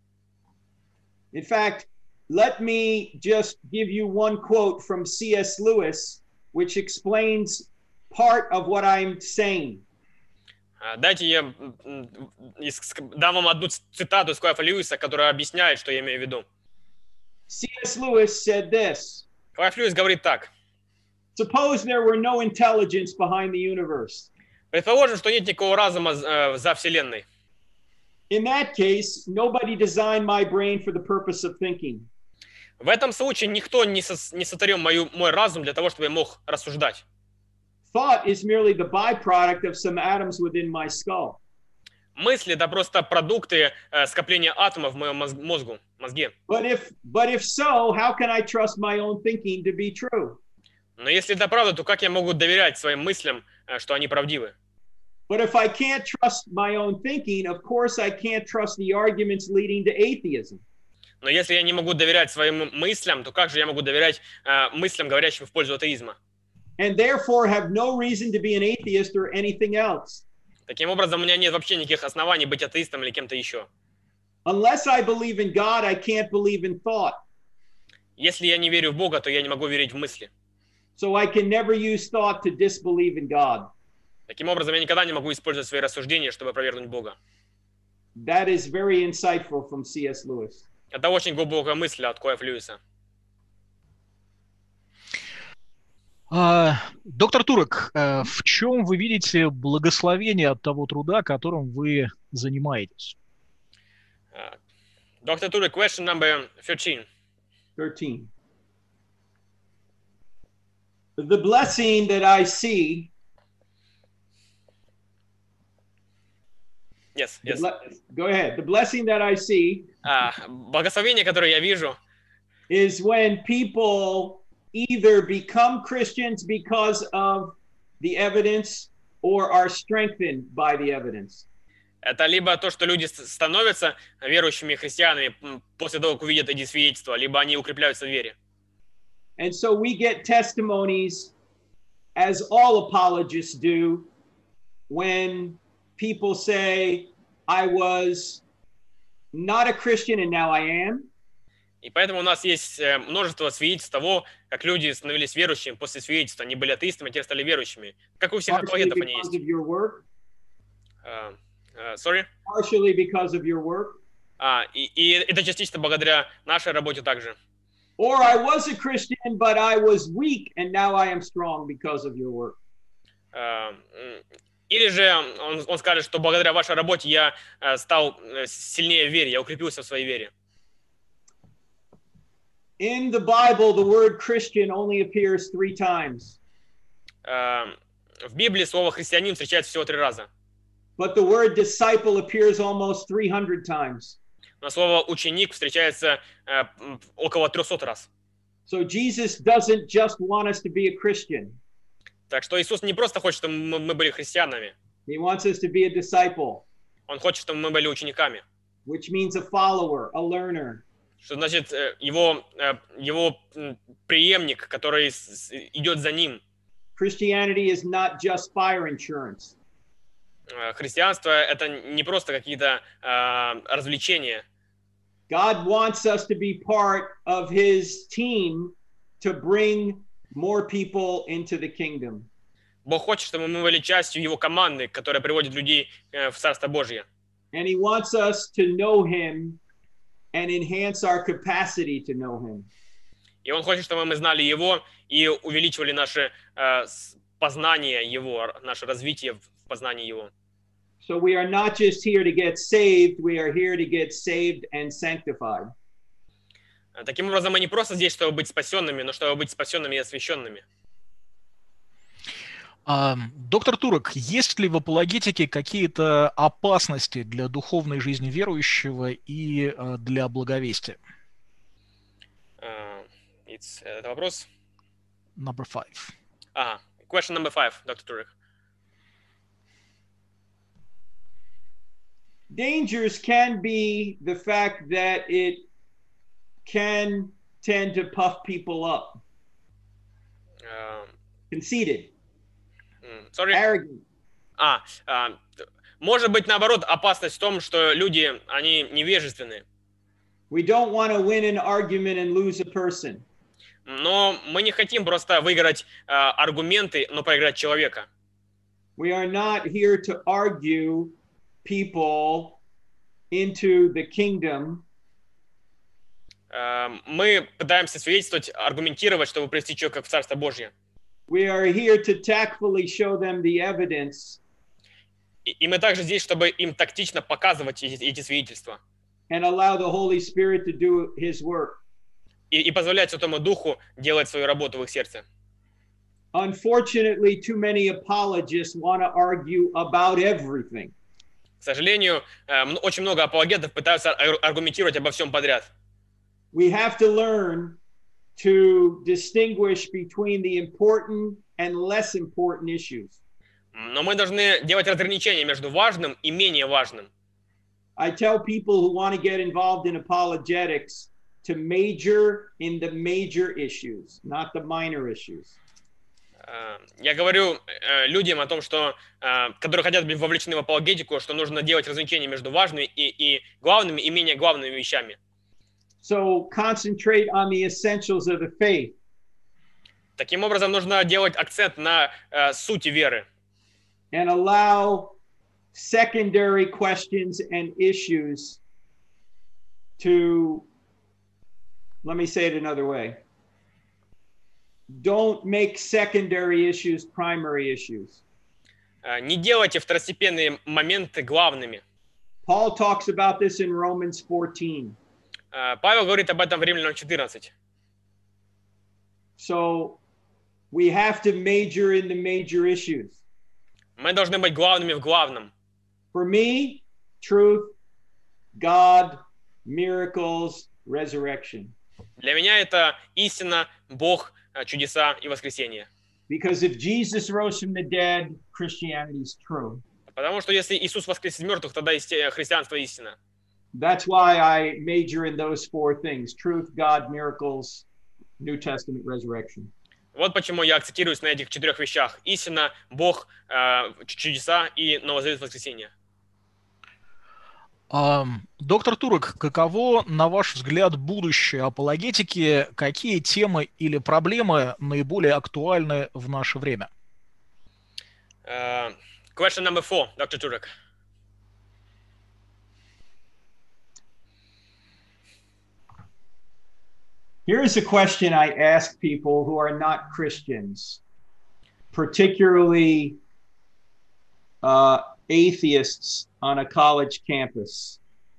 In fact, let me just give you one quote from C S Lewis, which explains part of what I'm saying. А, Дайте я м, м, из- ск- дам вам одну ц- цитату из Клайва Льюиса, которая объясняет, что я имею в виду. C S Lewis said this: Клайв Льюис говорит так. suppose there were no intelligence behind the universe. Предположим, что нет никакого разума э, за Вселенной. In that case, nobody designed my brain for the purpose of thinking. В этом случае никто не, сос- не сотворил мою, мой разум для того, чтобы я мог рассуждать. Thought is merely the byproduct of some atoms within my skull. Мысли — это просто продукты э, скопления атомов в моем мозг- мозгу, мозге. But if but if so, how can I trust my own thinking to be true? Но если это правда, то как я могу доверять своим мыслям, э, что они правдивы? But if I can't trust my own thinking, of course I can't trust the arguments leading to atheism. Но если я не могу доверять своим мыслям, то как же я могу доверять э, мыслям, говорящим в пользу атеизма? And therefore have no reason to be an atheist or anything else. Таким образом, у меня нет вообще никаких оснований быть атеистом или кем-то еще. Unless I believe in God, I can't believe in thought. Если я не верю в Бога, то я не могу верить в мысли. So I can never use thought to disbelieve in God. Таким образом, я никогда не могу использовать свои рассуждения, чтобы опровергнуть Бога. That is very insightful from C S Lewis. Это очень глубокая мысль от Клайва Льюиса. А, доктор Турок, а, в чем вы видите благословение от того труда, которым вы занимаетесь? Uh, Doctor Turek, question number thirteen. thirteen. The blessing that I see, Yes, the yes. ble- go ahead. The blessing that I see А, благословение, которое я вижу, is when people either become Christians because of the evidence or are strengthened by the evidence. это либо то, что люди с- становятся верующими христианами м, после того, как увидят эти свидетельства, либо они укрепляются в вере. And so we get testimonies, as all apologists do, when people say, I was not a Christian and now I am. И поэтому у нас есть э, множество свидетельств того, как люди становились верующими после свидетельства. Они были атеистами, а теперь стали верующими. Как у всех Partially апологетов они because есть. of your work. А, а, sorry? Partially because of your work. А, и, и это частично благодаря нашей работе также. Or I was a Christian, but I was weak and now I am strong because of your work. А, м, Или же он, он скажет, что благодаря вашей работе я э, стал э, сильнее в вере, я укрепился в своей вере. In the Bible, the word Christian only appears three times, А, В Библии слово «христианин» встречается всего три раза. but the word disciple appears almost three hundred times. Но слово «ученик» встречается э, м, около трехсот раз. So Jesus doesn't just want us to be a Christian. Так что Иисус не просто хочет, чтобы мы мы были христианами. He wants us to be a disciple. Он хочет, чтобы мы были учениками. which means a follower, a learner. Что значит э, его, э, его м, преемник, который с- с- идет за ним. Christianity is not just fire insurance. Э, Христианство — это не просто какие-то э, развлечения. God wants us to be part of his team to bring more people into the kingdom. Бог хочет, чтобы мы были частью его команды, которая приводит людей э, в Царство Божье. And he wants us to know him and enhance our capacity to know him. И он хочет, чтобы мы знали его и увеличивали наше э, с- познание его, наше развитие в познании его. So we are not just here to get saved, we are here to get saved and sanctified. Э, Таким образом, мы не просто здесь, чтобы быть спасенными, но чтобы быть спасенными и освященными. А, доктор Турок, есть ли в апологетике какие-то опасности для духовной жизни верующего и а, для благовестия? Э, it's, э, Это вопрос? Number five. Ага. Question number five, доктор Турек. Dangers can be the fact that it can tend to puff people up, Э, conceited, м, Sorry. arrogant. А, а, т- может быть, наоборот, опасность в том, что люди, они невежественные. We don't want to win an argument and lose a person. Но мы не хотим просто выиграть а, аргументы, но проиграть человека. We are not here to argue people into the kingdom. А, Мы пытаемся свидетельствовать, аргументировать, чтобы привести человека в Царство Божье. We are here to tactfully show them the evidence И, и мы также здесь, чтобы им тактично показывать эти, эти свидетельства. and allow the Holy Spirit to do his work. И, и позволять Святому Духу делать свою работу в их сердце. Unfortunately, too many apologists want to argue about everything. К сожалению, э, м- очень много апологетов пытаются ар- аргументировать обо всем подряд. We have to learn to distinguish between the important and less important issues. Но мы должны делать разграничение между важным и менее важным. I tell people who want to get involved in apologetics to major in the major issues, not the minor issues. Э, Я говорю э, людям о том, что, э, которые хотят быть вовлечены в апологетику, что нужно делать разграничение между важными и, и главными и менее главными вещами. So concentrate on the essentials of the faith. Таким образом, нужно делать акцент на э, сути веры And allow secondary questions and issues to, let me say it another way. Don't make secondary issues primary issues. Э, Не делайте второстепенные моменты главными. Paul talks about this in Romans fourteen. Э, Павел говорит об этом в Римлянам четырнадцать. So we have to major in the major issues. Мы должны быть главными в главном. For me, truth, God, miracles, resurrection. Для меня это истина, Бог, э, чудеса и воскресение. Because if Jesus rose from the dead, Christianity is true. Потому что если Иисус воскрес из мертвых, тогда исти- христианство истина. That's why I major in those four things: truth, God, miracles, New Testament, resurrection. Вот почему я акцентируюсь на этих четырех вещах. Истина, Бог, э, чудеса и новозавет воскресения. А, доктор Турок, каково, на ваш взгляд, будущее апологетики? Какие темы или проблемы наиболее актуальны в наше время? Э, Question number four, доктор Турек. Here is a question I ask people who are not Christians, particularly uh, atheists on a college campus.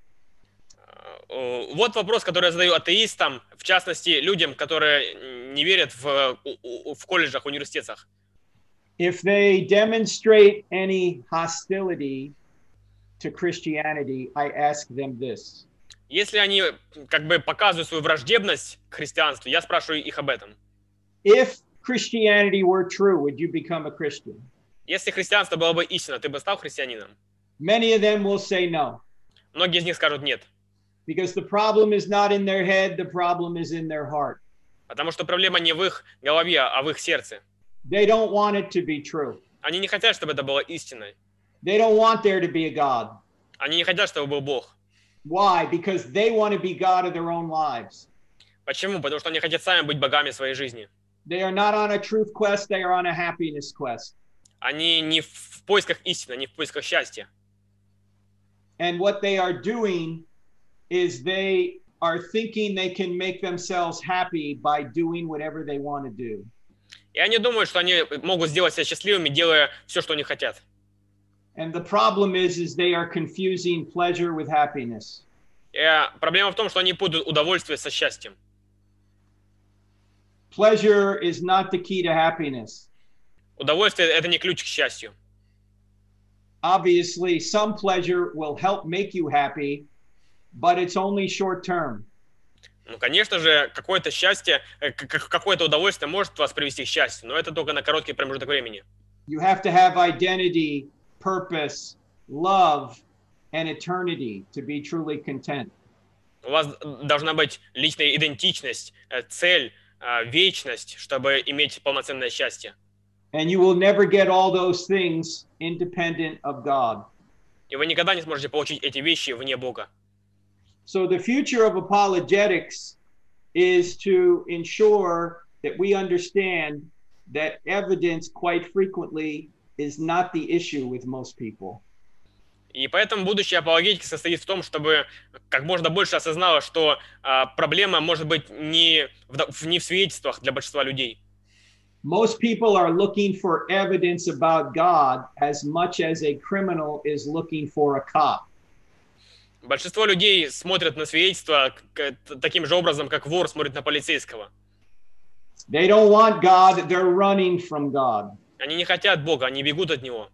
Э, Вот вопрос, который я задаю атеистам, в частности, людям, которые не верят в, у- у- в колледжах, университетах. If they demonstrate any hostility to Christianity, I ask them this. Если они как бы показывают свою враждебность к христианству, я спрашиваю их об этом. If Christianity were true, would you become a Christian? Если христианство было бы истинно, ты бы стал христианином? Many of them will say no. Многие из них скажут нет. Because the problem is not in their head, the problem is in their heart. Потому что проблема не в их голове, а в их сердце. They don't want it to be true. Они не хотят, чтобы это было истиной. They don't want there to be a God. Они не хотят, чтобы был Бог. Why? Because they want to be God of their own lives. Почему? Потому что они хотят сами быть богами своей жизни. They are not on a truth quest, they are on a happiness quest. Они не в поисках истины, не в поисках счастья. And what they are doing is they are thinking they can make themselves happy by doing whatever they want to do. И они думают, что они могут сделать себя счастливыми, делая все, что они хотят. And the problem is, is they are confusing pleasure with happiness. И проблема в том, что они путают удовольствие со счастьем. Pleasure is not the key to happiness. Удовольствие – это не ключ к счастью. Obviously, some pleasure will help make you happy, but it's only short term. Ну, конечно же, какое-то счастье, какое-то удовольствие может вас привести к счастью, но это только на короткий промежуток времени. You have to have identity, purpose, love, and eternity to be truly content. У вас должна быть личная идентичность, цель, вечность, чтобы иметь полноценное счастье. And you will never get all those things independent of God. И вы никогда не сможете получить эти вещи вне Бога. So the future of apologetics is to ensure that we understand that evidence quite frequently is not the issue with most people. И поэтому будущее апологетики состоит в том, чтобы как можно больше осознало, что а, проблема может быть не в, не в свидетельствах для большинства людей. Most people are looking for evidence about God as much as a criminal is looking for a cop. Большинство людей смотрят на свидетельства таким же образом, как вор смотрит на полицейского. They don't want God, they're running from God. Они не хотят Бога, они бегут от Него.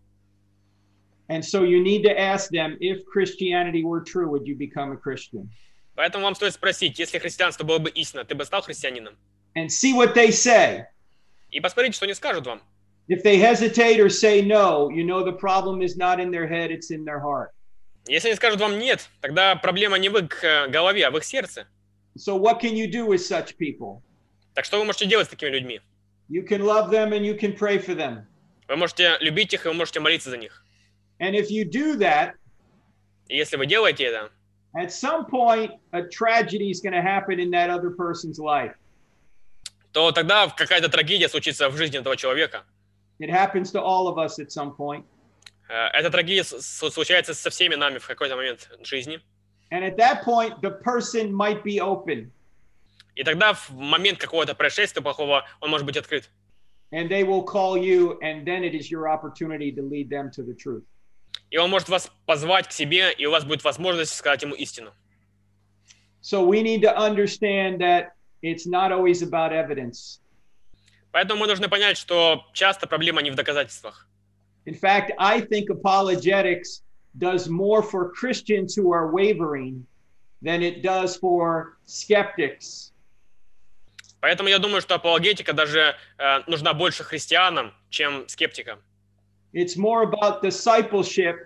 And so you need to ask them, if Christianity were true, would you become a Christian? Поэтому вам стоит спросить, если христианство было бы истинно, ты бы стал христианином? And see what they say. И посмотрите, что они скажут вам. If they hesitate or say no, you know the problem is not in their head, it's in their heart. Если они скажут вам нет, тогда проблема не в их голове, а в их сердце. So what can you do with such people? Так что вы можете делать с такими людьми? You can love them and you can pray for them. Вы можете любить их, и вы можете молиться за них. And if you do that, и если вы делаете это, at some point a tragedy is going to happen in that other person's life. то тогда какая-то трагедия случится в жизни этого человека. It happens to all of us at some point. Эта трагедия случается со всеми нами в какой-то момент жизни. And at that point, the person might be open. И тогда в момент какого-то происшествия плохого он может быть открыт. And they will call you, and then it is your opportunity to lead them to the truth. И он может вас позвать к себе, и у вас будет возможность сказать ему истину. So we need to understand that it's not always about evidence. Поэтому мы должны понять, что часто проблема не в доказательствах. In fact, I think apologetics does more for Christians who are wavering than it does for skeptics. Поэтому я думаю, что апологетика даже э, нужна больше христианам, чем скептикам. It's more about discipleship.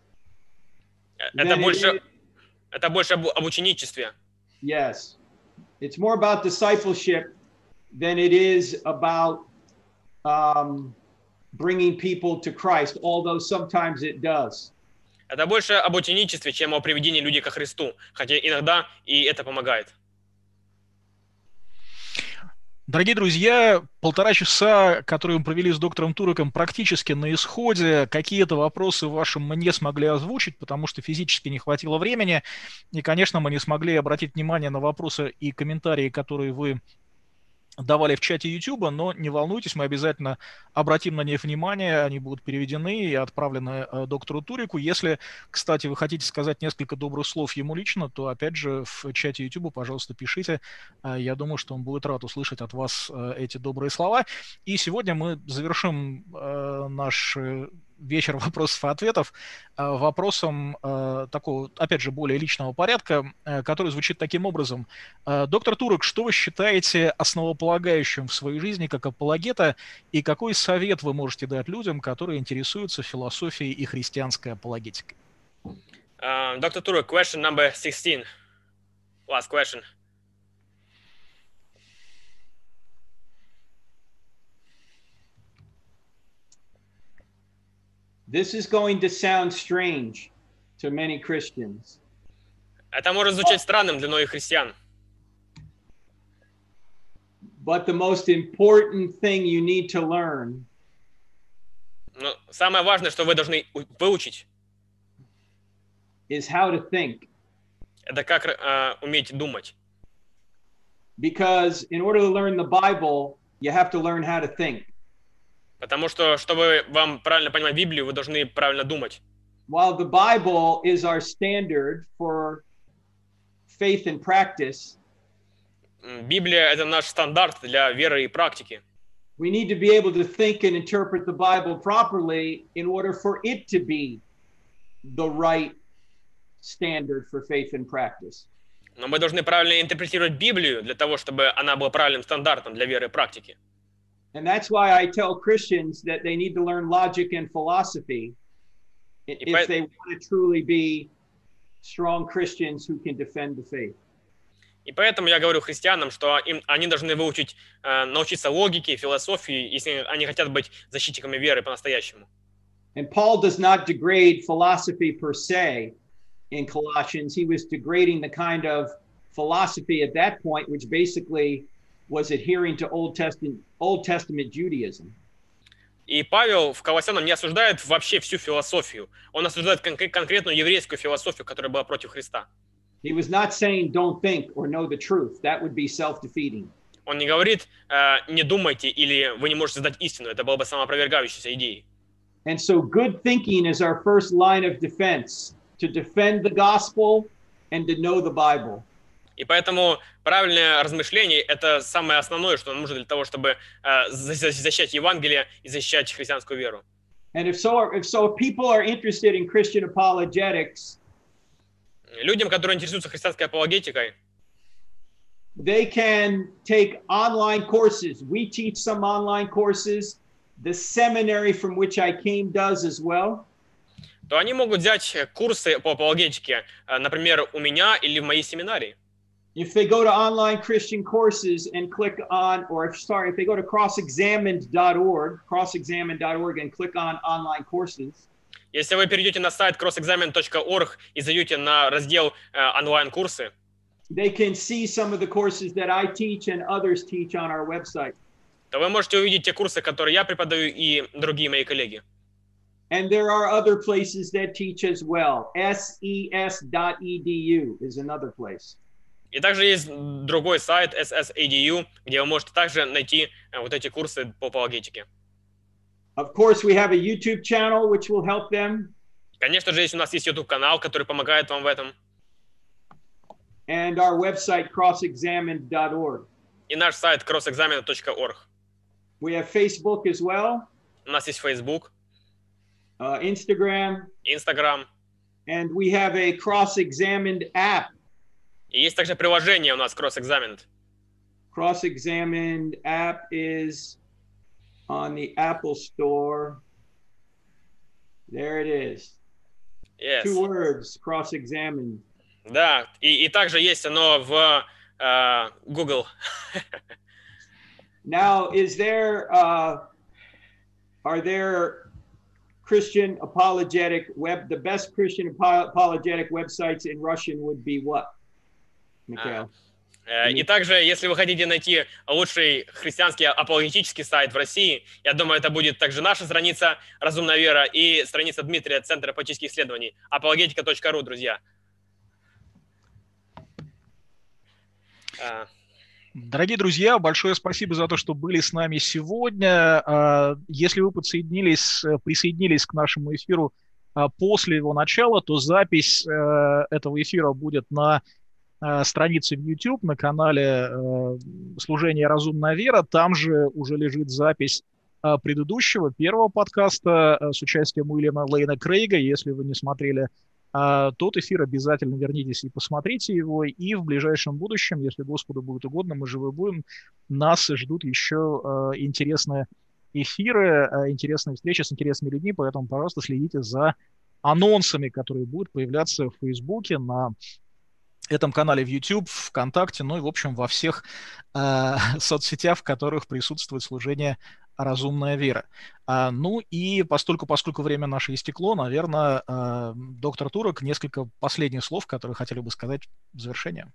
Это больше, это больше об, об ученичестве. Yes. It's more about discipleship than it is about um, bringing people to Christ, although sometimes it does. Это больше об ученичестве, чем о приведении людей ко Христу, хотя иногда и это помогает. Дорогие друзья, полтора часа, которые мы провели с доктором Туреком, практически на исходе. Какие-то вопросы ваши мы не смогли озвучить, потому что физически не хватило времени. И, конечно, мы не смогли обратить внимание на вопросы и комментарии, которые вы давали в чате YouTube, но не волнуйтесь, мы обязательно обратим на них внимание, они будут переведены и отправлены э, доктору Туреку. Если, кстати, вы хотите сказать несколько добрых слов ему лично, то, опять же, в чате YouTube, пожалуйста, пишите. Э, я думаю, что он будет рад услышать от вас э, эти добрые слова. И сегодня мы завершим э, наш э, вечер вопросов и ответов э, вопросом э, такого, опять же, более личного порядка, э, который звучит таким образом. Э, доктор Турек, что вы считаете основополагающим в своей жизни как апологета, и какой совет вы можете дать людям, которые интересуются философией и христианской апологетикой? Uh, Doctor Turo, question number sixteen. Last question. This is going to sound strange to many Christians. Это может звучать странным для многих христиан. But the most important thing you need to learn Но самое важное, что вы должны выучить, is how to think. это как uh, уметь думать. Because in order to learn the Bible, you have to learn how to think. Потому что, чтобы вам правильно понимать Библию, вы должны правильно думать. While the Bible is our standard for faith and practice, Библия — это наш стандарт для веры и практики. we need to be able to think and interpret the Bible properly in order for it to be the right standard for faith and practice. Но мы должны правильно интерпретировать Библию для того, чтобы она была правильным стандартом для веры и практики. And that's why I tell Christians that they need to learn logic and philosophy if they want to truly be strong Christians who can defend the faith. И поэтому я говорю христианам, что им, они должны выучить, э, научиться логике, философии, если они хотят быть защитниками веры по-настоящему. And Paul does not degrade philosophy per se in Colossians. He was degrading the kind of philosophy at that point, which basically was adhering to Old Testament, Old Testament Judaism. И Павел в Колоссянам не осуждает вообще всю философию. Он осуждает кон- конкретную еврейскую философию, которая была против Христа. He was not saying don't think or know the truth. That would be self-defeating. Он не говорит, э, не думайте или вы не можете знать истину. Это было бы самоопровергающейся идеей. And so good thinking is our first line of defense, to defend the gospel and to know the Bible. И поэтому правильное размышление — это самое основное, что нам нужно для того, чтобы э, защищать Евангелие и защищать христианскую веру. And if so, if so, if people are interested in Christian apologetics, Людям, которые интересуются христианской апологетикой, they can take online courses. We teach some online courses. The seminary from which I came does as well. то они могут взять курсы по апологетике, э, например, у меня или в моей семинарии. If they go to online Christian courses and click on, or if, sorry, if they go to cross examined dot org, cross examined dot org and click on online courses, Если вы перейдете на сайт cross examine dot org и зайдете на раздел э, онлайн-курсы, they can see some of the courses that I teach and others teach on our website. то вы можете увидеть те курсы, которые я преподаю и другие мои коллеги. And there are other places that teach as well. S E S dot E D U is another place. И также есть другой сайт эс эс эй ди ю, где вы можете также найти э, вот эти курсы по апологетике. Of course, we have a YouTube channel which will help them. Конечно же, есть у нас есть YouTube-канал, который помогает вам в этом. And our website, cross examined dot org. И наш сайт cross examine dot org. We have Facebook as well, У нас есть Facebook, uh, Instagram, Instagram. and we have a cross-examined app. И есть также приложение у нас Cross Examined. Cross-examined app is on the Apple Store. There it is. Yes. Two words, cross-examined. Да, и, и также есть оно в э, Google. Now, is there, uh, are there Christian apologetic web, the best Christian apo- apologetic websites in Russian would be what, Mikhail? Э, И также, если вы хотите найти лучший христианский апологетический сайт в России, я думаю, это будет также наша страница «Разумная вера» и страница Дмитрия, Центра апологетических исследований, апологетика точка ру, друзья. А, Дорогие друзья, большое спасибо за то, что были с нами сегодня. А, Если вы подсоединились, присоединились к нашему эфиру а, после его начала, то запись а, этого эфира будет на а, странице в YouTube, на канале а, «Служение «Разумная вера». Там же уже лежит запись а, предыдущего, первого подкаста а, с участием Уильяма Лейна Крейга. Если вы не смотрели а, тот эфир, обязательно вернитесь и посмотрите его. И в ближайшем будущем, если Господу будет угодно, мы живы будем, нас ждут еще а, интересные эфиры, а, интересные встречи с интересными людьми, поэтому, пожалуйста, следите за анонсами, которые будут появляться в Фейсбуке, на этом канале в YouTube, ВКонтакте, ну и, в общем, во всех э, соцсетях, в которых присутствует служение «Разумная вера». А, ну и постольку, поскольку время наше истекло, наверное, э, доктор Турок, несколько последних слов, которые хотели бы сказать в завершение.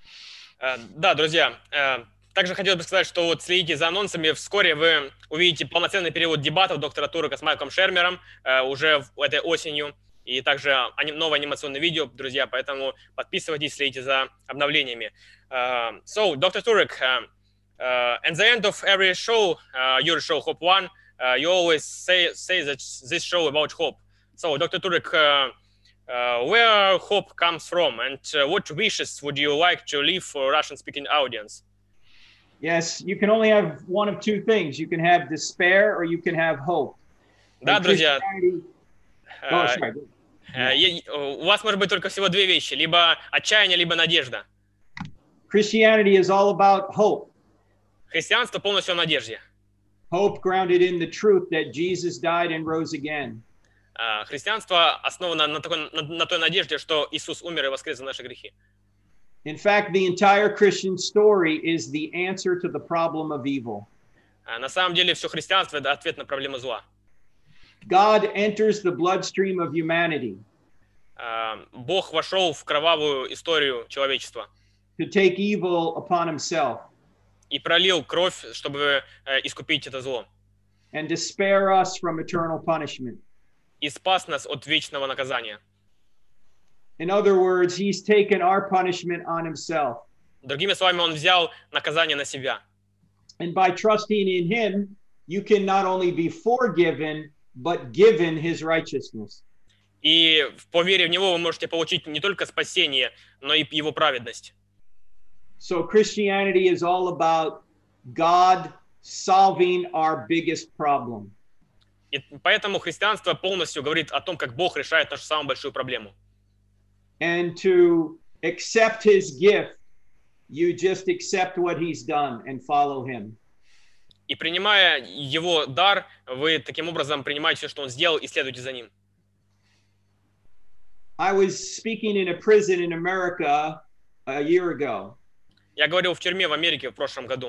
Да, друзья, также хотел бы сказать, что вот следите за анонсами. Вскоре вы увидите полноценный перевод дебатов доктора Турока с Майклом Шермером уже этой осенью. И также новое анимационное видео, друзья, поэтому подписывайтесь, следите за обновлениями. Uh, so, doctor Turek, uh, uh, at the end of every show, uh, your show, Hope One, uh, you always say, say that this show about hope. So, doctor Turek, uh, uh, where hope comes from and uh, what wishes would you like to leave for Russian-speaking audience? Yes, you can only have one of two things. You can have despair or you can have hope. Да, друзья. Oh, sorry. У вас может быть только всего две вещи: либо отчаяние, либо надежда. Christianity is all about hope. Христианство полностью о надежде. Hope grounded in the truth that Jesus died and rose again. Христианство основано на, такой, на, на той надежде, что Иисус умер и воскрес за наши грехи. In fact, the entire Christian story is the answer to the problem of evil. На самом деле, все христианство — это ответ на проблему зла. God enters the bloodstream of humanity. Бог вошел в кровавую историю человечества. To take evil upon himself. И пролил кровь, чтобы искупить это зло. And to spare us from eternal punishment. И спас нас от вечного наказания. In other words, he's taken our punishment on himself. Другими словами, он взял наказание на себя. And by trusting in him, you can not only be forgiven, but given his righteousness. И по вере в него вы можете получить не только спасение, но и его праведность. So Christianity is all about God solving our biggest problem. И поэтому христианство полностью говорит о том, как Бог решает нашу самую большую проблему. And to accept his gift, you just accept what he's done and follow him. И принимая его дар, вы таким образом принимаете все, что он сделал, и следуете за ним. I was speaking in a prison in America a year ago. Я говорил в тюрьме в Америке в прошлом году.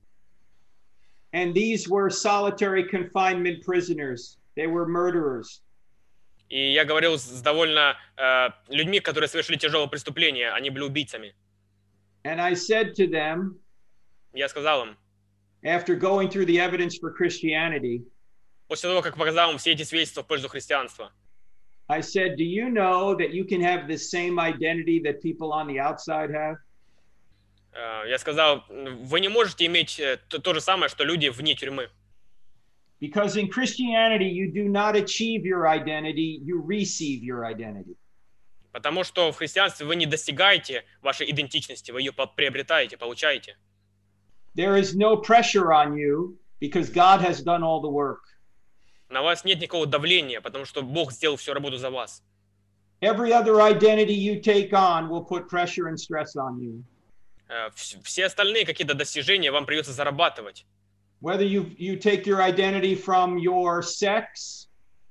And these were solitary confinement prisoners. They were murderers. И я говорил с довольно э, людьми, которые совершили тяжелое преступление, они были убийцами. And I said to them, я сказал им, after going through the evidence for Christianity, после того, как показал им все эти свидетельства в пользу христианства, I said, do you know that you can have the same identity that people on the outside have? Uh, я сказал, вы не можете иметь то, то же самое, что люди вне тюрьмы. Because in Christianity you do not achieve your identity, you receive your identity. Потому что в христианстве вы не достигаете вашей идентичности, вы ее приобретаете, получаете. There is no pressure on you because God has done all the work. На вас нет никакого давления, потому что Бог сделал всю работу за вас. Every other identity you take on will put pressure and stress on you. Все остальные какие-то достижения вам придется зарабатывать. Whether you you take your identity from your sex,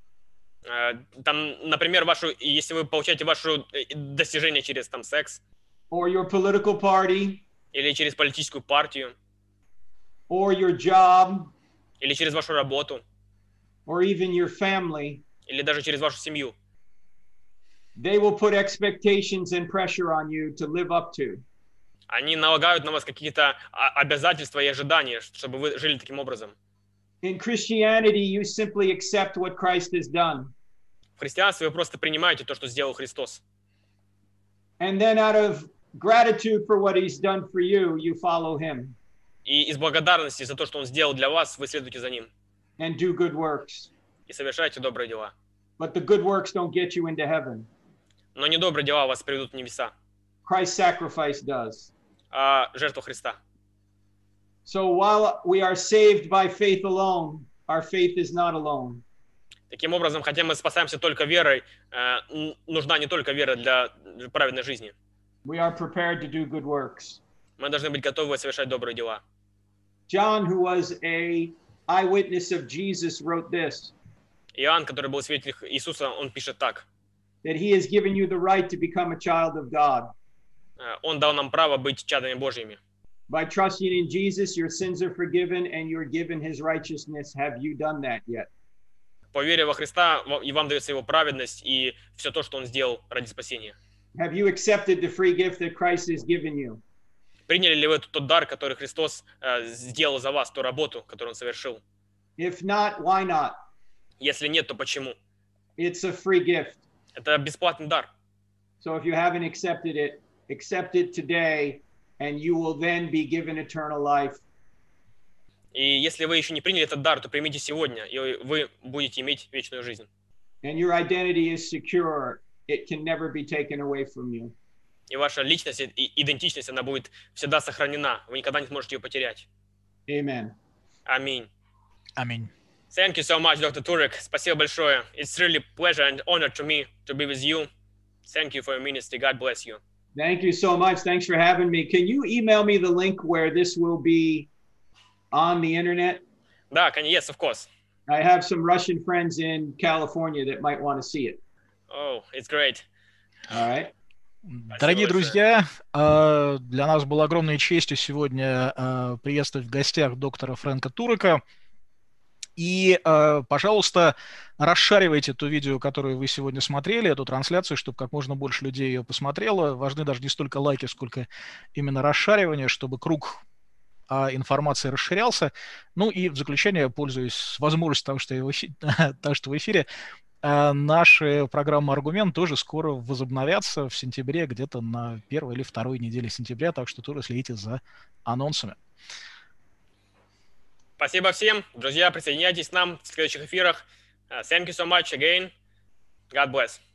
там, например, вашу, если вы получаете ваше достижение через там секс, or your political party, или через политическую партию, or your job, или через вашу работу, or even your family, или даже через вашу семью, they will put expectations and pressure on you to live up to. Они налагают на вас какие-то обязательства и ожидания, чтобы вы жили таким образом. In Christianity, you simply accept what Christ has done. В христианстве вы просто принимаете то, что сделал Христос. And then out of gratitude for what he's done for you, you follow him. И из благодарности за то, что он сделал для вас, вы следуете за ним. And do good works. И совершайте добрые дела. But the good works don't get you into heaven. Но не добрые дела вас приведут в небеса. Christ's sacrifice does. А жертва Христа. So while we are saved by faith alone, our faith is not alone. Таким образом, хотя мы спасаемся только верой, нужна не только вера для праведной жизни. We are prepared to do good works. Мы должны быть готовы совершать добрые дела. John, who was a eyewitness of Jesus, wrote this. Иоанн, который был свидетелем Иисуса, он пишет так. that he has given you the right to become a child of God. Э, Он дал нам право быть чадами Божьими. By trusting in Jesus, your sins are forgiven and you're given his righteousness. Have you done that yet? По вере во Христа ва- и вам дается Его праведность и все то, что Он сделал ради спасения. Have you accepted the free gift that Christ has given you? Приняли ли вы тот, тот дар, который Христос э, сделал за вас, ту работу, которую Он совершил? If not, why not? Если нет, то почему? It's a free gift. Это бесплатный дар. So if you haven't accepted it, accept it today, and you will then be given eternal life. И если вы еще не приняли этот дар, то примите сегодня, и вы будете иметь вечную жизнь. And your identity is secure. It can never be taken away from you. И ваша личность и идентичность, она будет всегда сохранена. Вы никогда не сможете ее потерять. Amen. Аминь. Аминь. Thank you so much, доктор Турек. Спасибо большое. It's really pleasure and honor to me to be with you. Thank you for your ministry. God bless you. Thank you so much. Thanks for having me. Can you email me the link where this will be on the internet? Да, конечно, yes, of course. I have some Russian friends in California that might want to see it. Oh, it's great. All right. Дорогие большое. друзья, э, для нас было огромной честью сегодня э, приветствовать в гостях доктора Фрэнка Турека. И, э, пожалуйста, расшаривайте то видео, которое вы сегодня смотрели, эту трансляцию, чтобы как можно больше людей ее посмотрело. Важны даже не столько лайки, сколько именно расшаривание, чтобы круг а, информации расширялся. Ну и в заключение, пользуясь возможностью того, что я в эфире, того, что в эфире, а, наши программы «Аргумент» тоже скоро возобновятся в сентябре, где-то на первой или второй неделе сентября, так что тоже следите за анонсами. Спасибо всем. Друзья, присоединяйтесь к нам в следующих эфирах. Uh, thank you so much again. God bless.